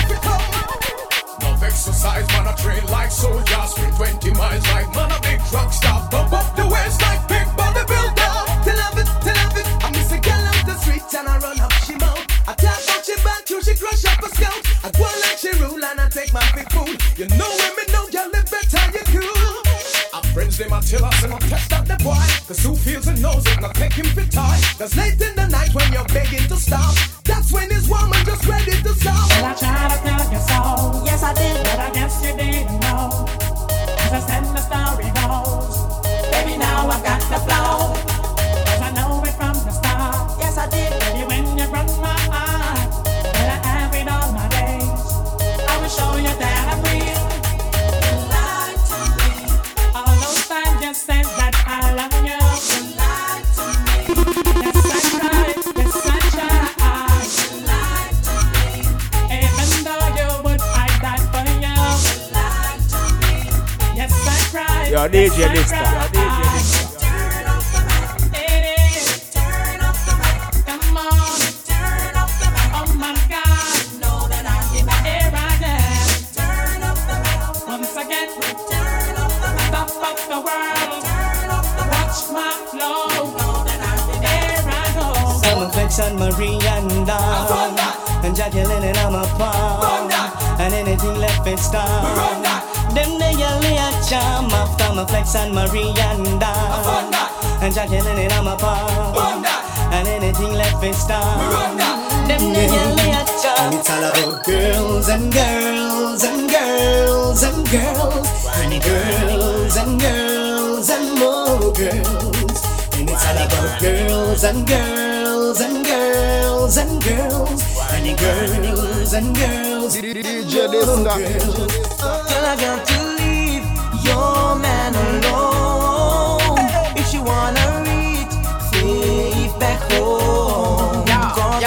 them a tell us and I test out the boy. Cause who feels and knows it and I take him for time. Cause late in the night when you're begging to stop, that's when his woman just ready to stop. Well, I tried to tell you so. Yes, I did. But I guess you didn't know. As I said, the story goes. Baby, now I've got the flow. Cause I know it from the start. Yes, I did. Baby, when you run my heart, and I have it all my days, I will show you that I'm real. You lied to me. All those times you said that I love you. You lied to me. Yes, I tried. Yes, I tried. You lied to me. Even though you would fight that for you. You lied to me. Yes, I tried. Yo, DJ Lista. Turn off the mic. It is. Turn off the mic. Come on. Turn off the mic. Oh my God. Know that I'm here I am. Turn off the mic. Once again. Turn off the mic. Top of the world. Turn off the mic. Watch my flow. Know that I'm here I go. I'm a flex on Marie and Dawn, and Jacqueline and I'm a palm, and anything left it's down. Them they yell me a charm after my flex on Marie and Dawn, and Jacqueline and I'm a palm, and anything left it's down. Them they yell me a charm. And it's all about girls and girls and girls and girls and girls and girls and more girls. And it's all about girls and girls and girls and girls and girls and girls. DJ Lista. Girl, I got to leave your man alone. If you wanna reach safe back home, cause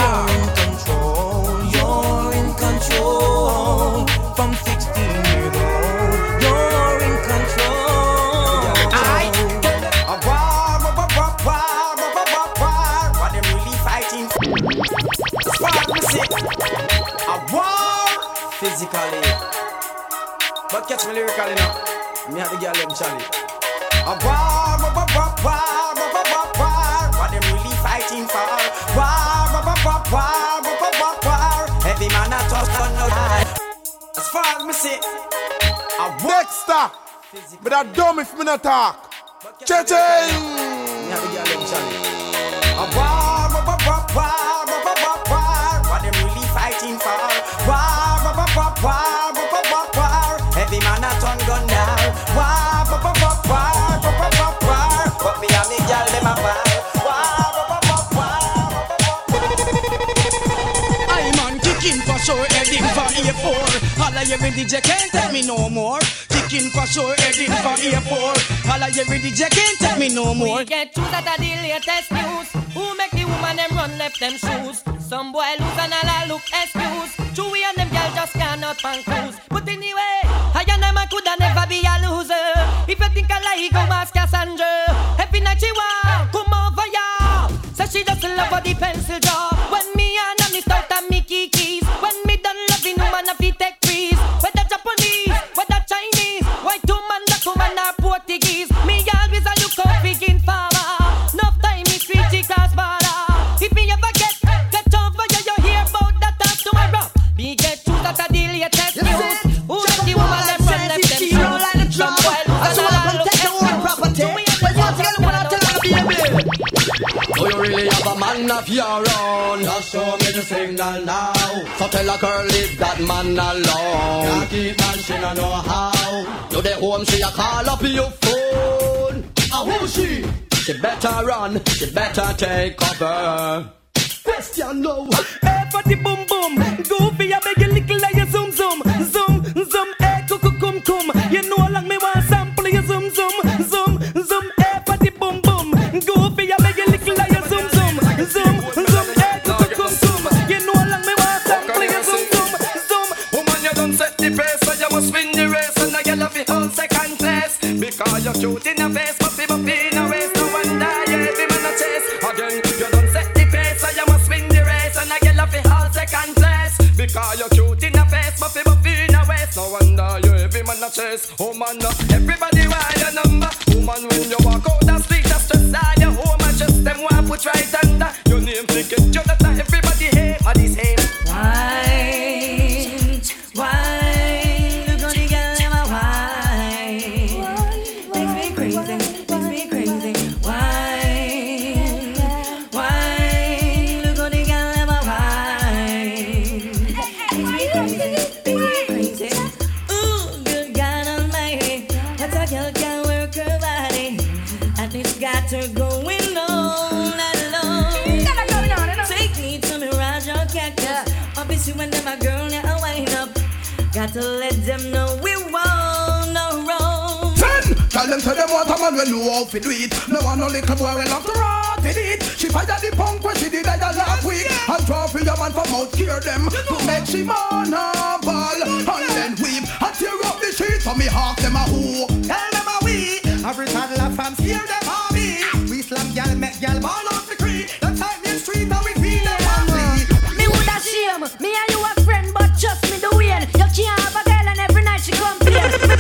you're in control. From 16 years old, you're in control. What them really fighting for? A war physically, but catch me lyrically now. Me have the girl them Charlie. A war. What them really fighting for? War. Every man a toss on no die. As far as me say, a war. Dexter, but I dumb if me not talk. Cha-ching! Me have the girl them Charlie. A war. What them really fighting for? War. Every man a turn gun down. War. But me and me girl them a war. I man kicking for sure, heading for A4. All I hear in DJ can't tell me no more. Kicking for sure, heading for A4. All I hear in DJ can't tell me no more. We get choose at the latest news. Who make the woman them run left them shoes? Some boy lose and all I look excuse. Chewy and them girl just cannot pan cruise. But anyway, I and them coulda never be a loser. If you think I lie, go ask Cassandra. Every night she want come over ya. So she just love for the pencil jaw. When me and me start and me kikis. When me done loving woman I fi take freeze. Whether Japanese, whether Chinese, white woman, black woman or Portuguese. Me always a look out begin farmer. Enough time me street cross border. If me ever get over ya, you hear about that talk tomorrow. Me get choose at the latest news. Who let the woman them run left them shoes? Some boy lose and all look excuse. Do you really have a man of your own? Just show me the signal now. So tell a girl leave that man alone. Can't keep man, she no know how. You the home, she a call up your phone. And who she? She better run, she better take cover. Question now. Hey, for the boom boom. Goofy, I beg you little like you zoom zoom. Zoom, zoom, hey, cum cum. You know like me want sample you zoom zoom. Zoom, zoom, hey, for the boom boom. Goofy, I beg you little like you zoom zoom. Zoom, zoom, hey, cum. You know like me want sample you zoom zoom. Zoom. Woman, you don't set the pace, so you must win the race. And I get off the whole second place. Because you're cute in the face, but people in a waist. No wonder you every man a chase. Again, you don't set the pace, so you must win the race. And I get off the whole second place. Because you're cute in the face, but people in a waist. No wonder you every man a chase. Oh man, everybody want your number. Woman, when you walk out the street, that's just all your home and just them want put right under your name. Think it, you that everybody hate for this hate. Why? Look on the girl in my wine. Makes me crazy. a girl can work her body, and it's got her going on and on. Take me to me Raja Cactus. Obviously when them a girl now wind up, got to let them know we won't no wrong. Tell them to them what a man when you out to do it. No one no little boy will have to rot in it. She fight at the punk when she did that last week. And draw for your man from out cure them to make she man a ball and then weep and tear up the sheet for me half them a who. Tell them a we. Every toddler fam scare them a me. We slam gal make gal ball off the creek. The time in street now we feel them a me. Me woulda shame. Me and you a friend, but trust me the way. You can't have a girl and every night she complain.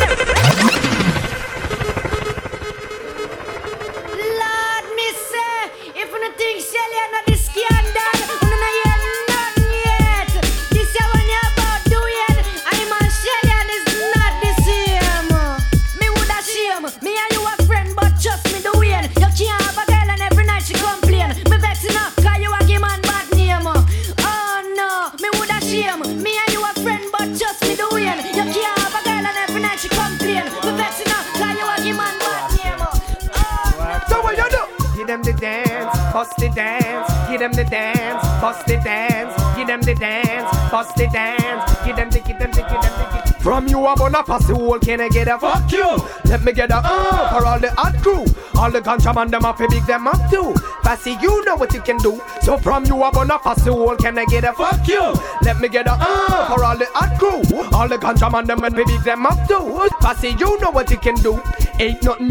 Lord, me say, if you don't think Shelly and not the scandal, you don't hear nothing yet. This year when you about doing, I'm on Shelly and it's not the same. Me woulda shame. Me and you a friend, but trust me the way. You can't have a girl and every night she complain. Me vex enough, cause you a give man bad name. Oh no, me woulda shame. Me and you a friend, but trust me the way. You can't have a girl and every night she complain. Me vex enough, cause you a give man bad name. So what you do? Give them the dance, bust the dance. Give them the dance, bust the dance. Give them the dance, bust the dance. Give them the. From you I'm gonna pass the whole, can I get a fuck you? Let me get a for all the hot crew. All the ganja man them up, big them up too. Passy, you know what you can do. So from you I'm gonna pass the whole, can I get a fuck you? Let me get a for all the hot crew. All the ganja man them and big them up too. Passy, you know what you can do. Ain't nothing.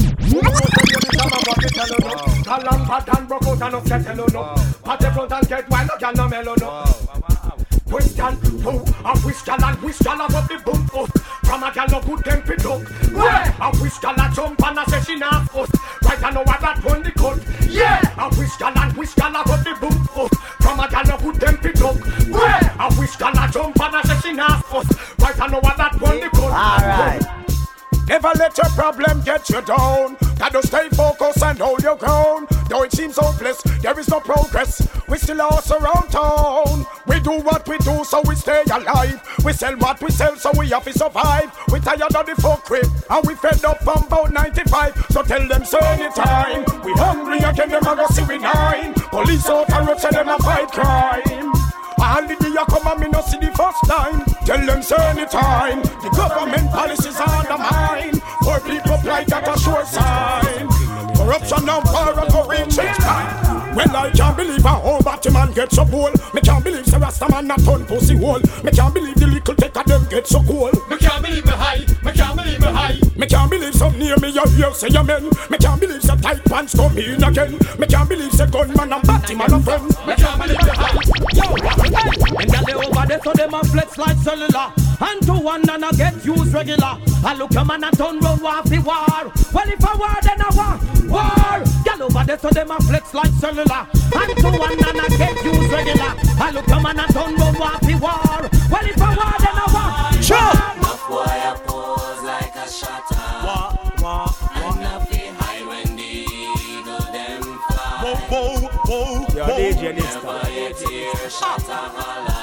A long pattern broke out and upset hello no. Pat the front and get wild, no can no mellow no. Question two, a whistle and whistle up the boom up. From a gal no good temperature. Where? A whistle a jump and a say she not us. Right I know what that one the cut. Yeah. A whistle and whistle up the boom up. From a gal no good temperature. Where? A whistle a jump and a say she not us. Right I know what that one the cut. Alright. Never let your problem get you down. Gotta stay focused and hold your ground. Though it seems hopeless, there is no progress. We still lost around town. We do what we do so we stay alive. We sell what we sell so we have to survive. We tired of the folk crib and we fed up from about 95. So tell them so anytime. We hungry again, them a go see we nine. Police out and road say them a fight crime. All the day you come and me no see the first time. Tell them say anytime. The government policies are undermined. Poor people like that a sure sign. Corruption and power go reach its time. Well, I can't believe a whole batty man get so cool. Me can't believe the Rasta man not turn pussy hole. Me can't believe the little take of them get so cool. Me can't believe me high. Me can't believe me high. Me can't believe some near me you hear say amen. Me can't believe the tight pants come in again. Me can't believe the gunman and batty man a friend. Me can't believe the high. Yo, and gal they over there so them a flex like cellular. And to one and a get used regular. I look a man a turn round off the war. Well if a war then a war. War. Gal over there so them a flex like cellular. And to one and a get used regular. I look a man a turn round off the war. Well if a war then a war. Sure. Enough boy a pose like a shutter. And enough they hide when the eagle them fly. Yo, DJ Never yet hear shutter holla.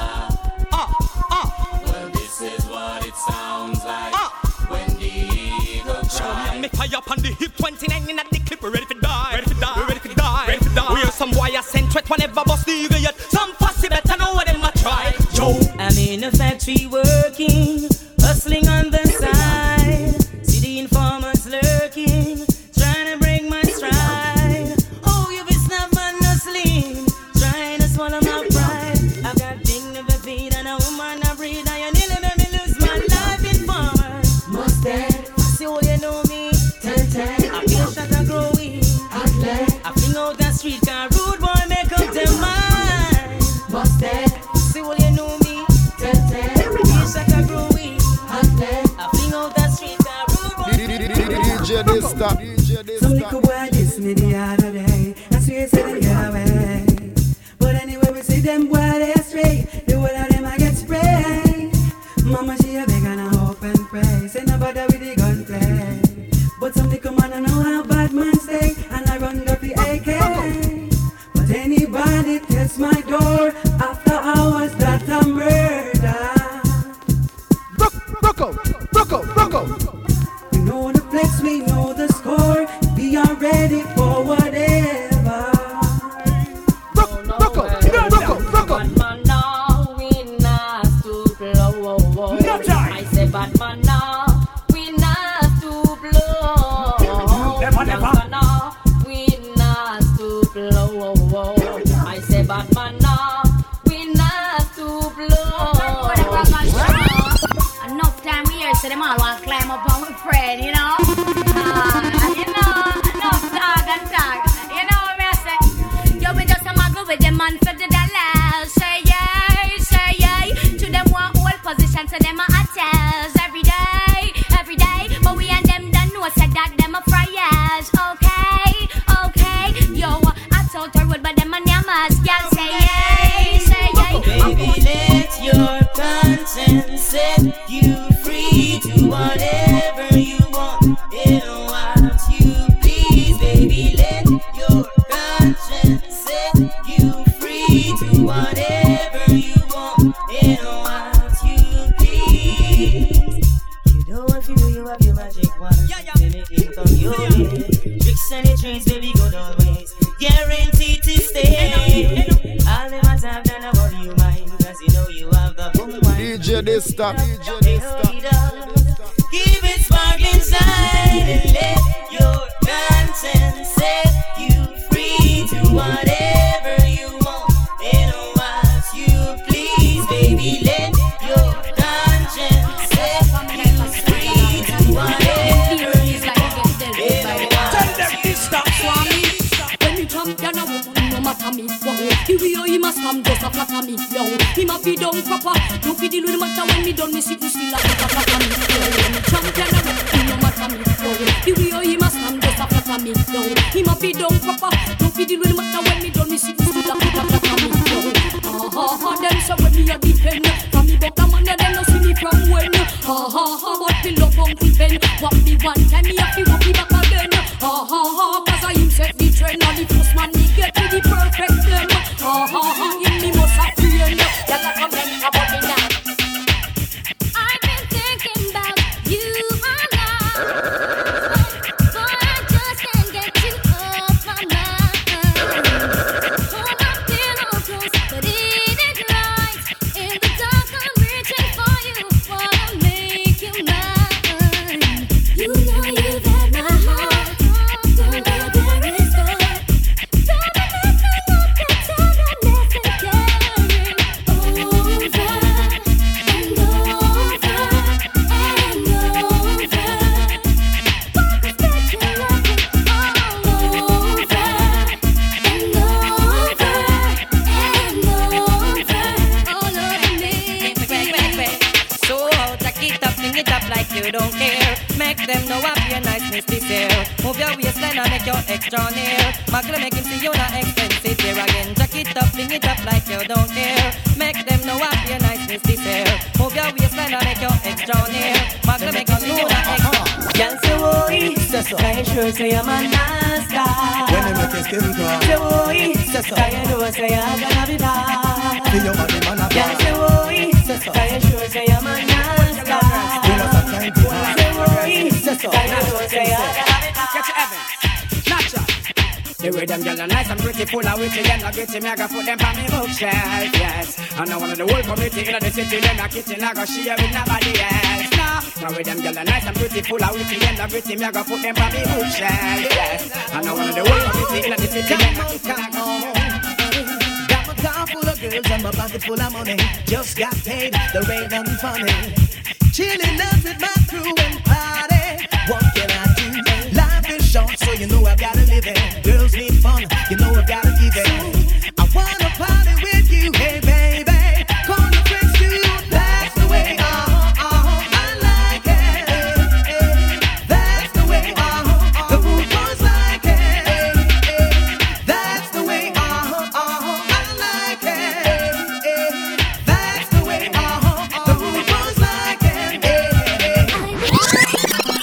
Well this is what it sounds like when the eagle cry. Me tie up on the hip 29 in the clip. We're ready to die. Ready to die. We're ready to die. Ready to die. We hear some wire sent threat whenever bust the eagle yet. Some fussy better know what them a try. Yo, I'm in a factory working, hustling on the side. See the informers lurking, trying to break my stride. Oh, you be snap and hustling, trying to swallow my pride. I've got dignity and a woman I breed, and you nearly made me lose my life. Informer, must dead. See all you know me. I feel shot and grow weak. I fling out the street, can rude boy make up their mind. Must dead. See all you know me. I feel shot and grow weak. I fling out the street, can rude boy DJ Dysta. Some little boy dissed me the other day. I swear said they get away. But anyway we see them boy they astray. The whole of them I get sprayed. Mama she a beg and I hope and pray. Say no bother with the gunplay. But some little man I know how bad man stay. And I run up the AK. But anybody test my door after hours that a murder. Rocco. We know the place cards, we know the score. We are ready for whatever. Bad man now, we not to blow. I say bad man now, we not to blow. Never. Now, we not to blow. I say bad man now, we not to blow. Enough time here, so them all want to climb up on my friend, you know. Enough talk and talk. You know what I say? Yo, we just a muggle with them man for the dollars. Say yeah. To them one whole position, to them a hotels every day. But we and them done know, said that them a fryers. Okay. Yo, I told her wood, but them a nyamas. Y'all say yeah. Baby, let your conscience set you free to whatever you want and what you please. Baby, let your conscience set you free to whatever you want and what you please. You don't want to do, you have your magic wand. Anything come your way. Tricks and the trains, baby, go always. Guaranteed to stay. I'll never have done about you mind, cause you know you have the boom mind. DJ Dista. Keep it sparkling side and let your conscience set you free to whatever you want and what you please. Baby, let your conscience set you free to whatever you want and Tell them this stop. When you come down a woman, no matter me. The way he must come just a flatter me. Yo, he must be down proper. Don't be deal with the matter when me done me sit you still a flatter me. Yo, when you come down a woman, no matter me. Yo, the way he must come just a flatter me. Yo, he must be down proper. Don't be deal with the matter when me done me sit you still a flatter me. Yo, them so when me a defend. From me but a man them no see me from when. But me love Uncle Ben. What me one time me have to walk me back again. Cause I him set the trend. And the first man me get to the perfect them. In me must have friend. Y'all a comment about me now. I've been thinking about you a lot, but I just can't get you off my mind. Hold my pillow close, but it is right. In the dark, I'm reaching for you, wanna make you mine. You know you've had my heart, don't let there is good. Don't be messing up the tenderness and caring over and over and over. So jack it up, fling it up like you don't care. Make them know up your niceness this year. Move your waistline and make your extra near. Muggle make him see you not expensive here again. Jack it up, fling it up like you don't care. Make them know up your niceness this year. Move your waistline and make your extra near. Muggle make him see you not expensive. Y'all say boy, can you sure say I'm a nasty? When they make your skin crawl, Say boy, can you know say I'm gonna be bad? feel your body man a Y'all say boy, can you sure say I'm a nasty? We not have time to hide. Say boy, can you know say I'm gonna be bad? Get your Evans. Natural. The way them girls are nice and pretty, full of witty, them not gritty, me I go put them on me bookshelf, yes. And now one of the whole community in the city, them not kitchen, I go share with nobody else. Now with them girls are nice and pretty, full of witty, them not gritty, me I go put them on me bookshelf, yes. And now one of the whole community in the city, them not kitchen, I go. Got my car full of girls and my pocket full of money. Just got paid, there ain't nothing funny. Chilling out with my crew and party. What can I do? Life is short, so you know I gotta live it. Girls need fun, you know I gotta give it. I wanna party with you, hey baby. Call your friends too, that's the way. I like it. That's the way. The food boys like it. That's the way. I like it. That's the way. The food boys like it.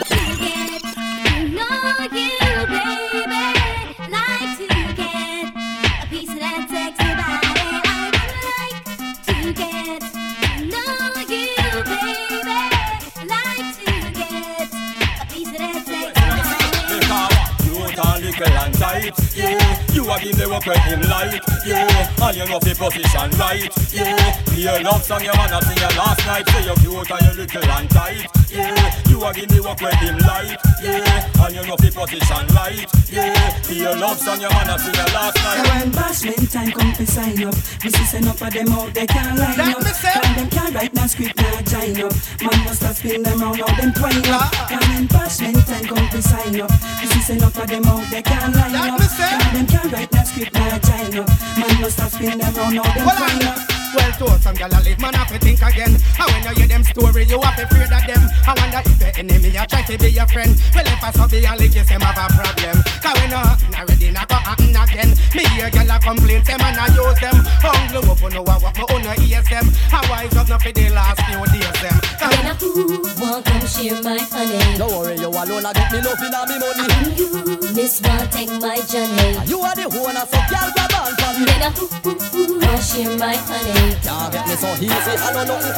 little and tight. Yeah, you a give the work when him like. Yeah, and you know fi position right. Yeah, play a love song your man a sing your last night. Say you cute and you little and tight. Yeah, you a give the work when him like. Yeah, and you know fi position right. Yeah, play a love song your man a sing your last night. When bashment time come to sign up, we see enough of them out they can't line up. Cause them can't write no script now join up. Man must have spin them round how them twine up. And when bashment time come to sign up, we see enough of them out they can't line up. Cause them can't write no script now join up. Man must have spin them round how them twine up. Well, to some gyal a live, man have to think again. And when you hear them story, you have to afraid of them. I wonder if the enemy a try to be your friend. Well, if I saw be a lick, them have a problem. Cause when you happen already, not go happen again. Me hear gyal a complain, them and I use them. Hungry up, you know what, me own ears them. I wise up, not for the last few days them. When I won't come share my honey. Don't worry, you alone, I get me nothing on me money. And you, miss one, take my journey. You are the owner, so gyal grab on from me. When I won't share my honey. Can't get me so easy, I know nothing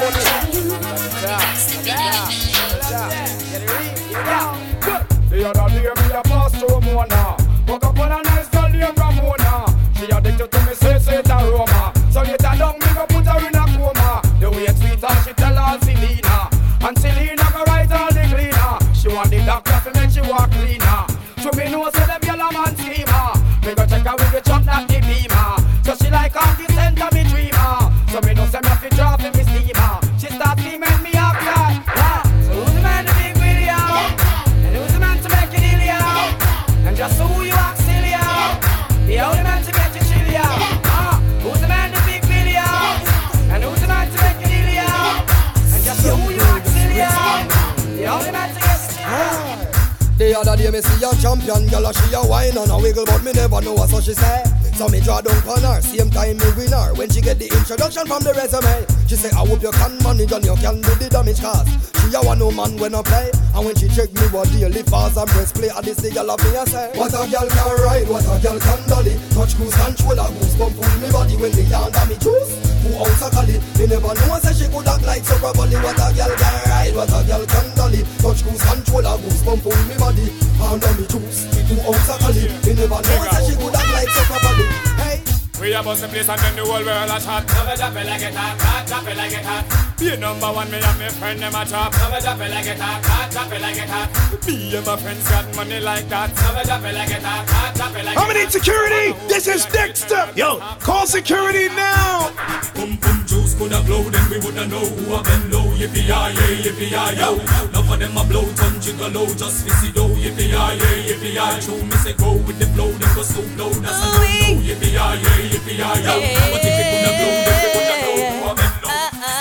The other day me a pass through Mona. Woke up on a nice girl named Ramona. She addicted to me, say it aroma. So later down me go put her in a coma. The way it's sweet and she tell her Selena. And Selena go write all the cleaner. She want the doctor to make she walk cleaner. So me know say them yellow man schemer. Me go check her with the truck not the beamer. So she like on the center me dreamer. So me know say me have to drop in me steamer. She start steaming me up that. So who's the man to be with you? And who's the man to make it ill you? And just who you act silly you? The only man to get you chill you. Who's the man to be with you? And who's the man to make it ill you? And just who you act silly you? The only man to get you chill you. The other day me see a champion girl, she a whine and a wiggle, but me never know what so she say. So me draw down on her, same time me win her. When she get the introduction from the resume, she say I hope you can manage and you can do the damage cause she a one no man when I play. And when she check me what daily fast and press play, and this the girl of me I say, what a girl can ride, what a girl can dolly. Touch cruise control, a goosebump pull me body when me under me juice. Who else a collie? Me never know say she could act like so properly. What a girl can ride, what a girl can dolly. Touch cruise control, a goosebump pull me body under me juice. Who else a collie? Me never know say she could act like so properly. Hey. We a bust the place and then the whole world a chat. Never drop it like it hot, drop it like it hot. Be number one, me and my friend them a chop. Never drop it like it hot, drop it like it hot. Me and my friends got money like that. Never drop it like it hot, drop it like it hot. How many security? This is Dexter. Yo, call security now. Boom boom juice coulda blow, then we woulda know who a been low. Yippee-yi-yay, yo. Enough of them a blow, ton jiggle low, just fizzy dough. Yippee-yi-yay, yippee-yi. Show me say go with the flow, then go so low. That's a no-no. Yippee-yi-yay, yippee-yi, yo. But if it coulda blow, then we woulda know who a been low.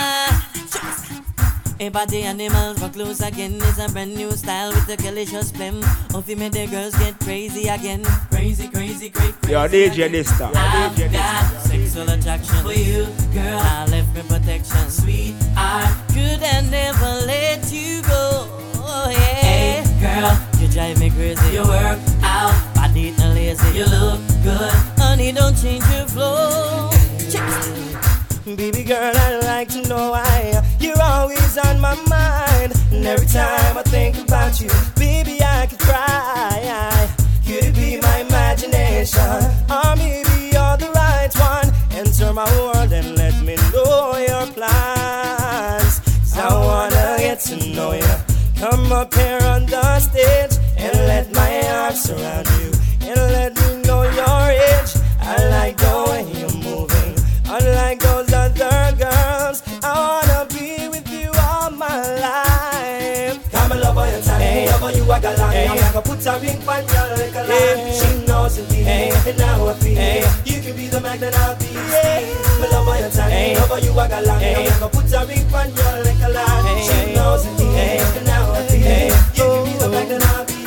A body animals for close again is a brand new style with the delicious phlegm. Of you made the girls get crazy again. Crazy, crazy, crazy. Yo, DJ Nista. I've got sexual attraction for you, girl. I left me protection. Sweet, I could and never let you go. Oh, yeah. Hey, girl, you drive me crazy. You work out, body not lazy. You look good, honey. Don't change your flow. Baby girl, I'd like to know why you're always on my mind. And every time I think about you, baby, I could cry. Could it be my imagination? Or maybe you're the right one. Enter my world and let me know your plans. 'Cause I wanna get to know you. Come up here on the stage and let my arms surround you. And let me know your age. I like the way you're moving. Unlike those other girls, I wanna be with you all my life. Come and love on your time, hey, love on you I got long. Hey, I'm gonna put a ring on your like a lamp. She knows it, hey, and now I feel. Hey, you can be the magnet I'll be. Hey, but love on your time, hey, love on you I got long. Hey, I'm gonna put a ring on your like a lamp. She knows it, hey, and now I feel. Hey, you can be the magnet I'll be.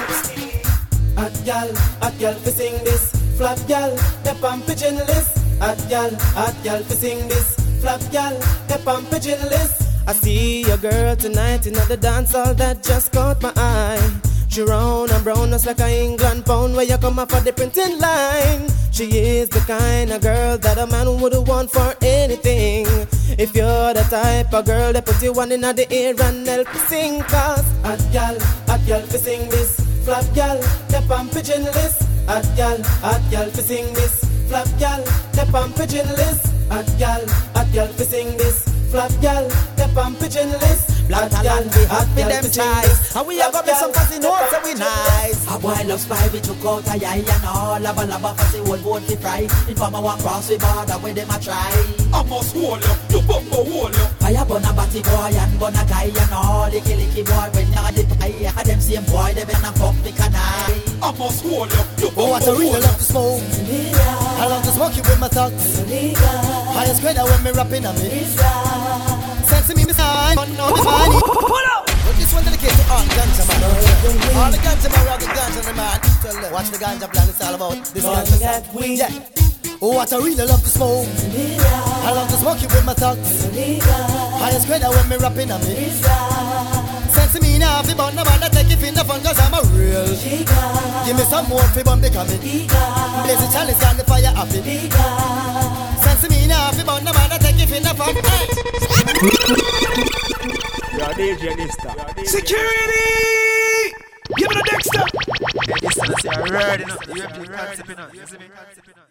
Hot gal, fi sing this. Flap gal, step on pigeon list. Hot gal, fi sing this. Flap gal, step on pigeon list. I see a girl tonight in the dance hall that just caught my eye. She round and brown just like a England pound where you come off of the printing line. She is the kind of girl that a man would want for anything. If you're the type of girl that put you one in the ear and help you sing. Cause hot gal, fi sing this. Flap gal, step on pigeon list. hot gal, fi sing this. Flap gal, step on pigeon list. Hot gal, fi sing this. Flap gal, step on pigeon list. Black talent be hot for them ties. And we have got some fussy notes so we nice. A boy love spy, we took out a eye and all. Lava fussy old boat to fry. Informer one cross we border where them a try. I must hold you, you bumper hold you. Fire burn a batty boy and burn a guy and all. Licky boy when you're the pie. And them same boy, they been a fuck the canai. I must hold you, you oh, what I really love to smoke. I love to smoke you with my thoughts. Highest grade when me rapping on me. Sense me, son. No, me funny. Pull up. But this one dedicated to all ganja man. All the ganja man, rock the ganja man. Watch the ganja plan, it's all about this ganja weed. Yeah. Oh, what I really love to smoke. I love to smoke you with my thoughts. Highest grade when me rapping on me. Sense me now, fi bun no man that take it in the fun, cause I'm a real. Give me some more fi bun become it. Blaze the chalice and the fire happy. Sense me now, fi bun no man that take it in the fun. You're DJ Dexter. Security! Give it a Dexter! Yeah, this is a rare, you know. You have to concept, you know.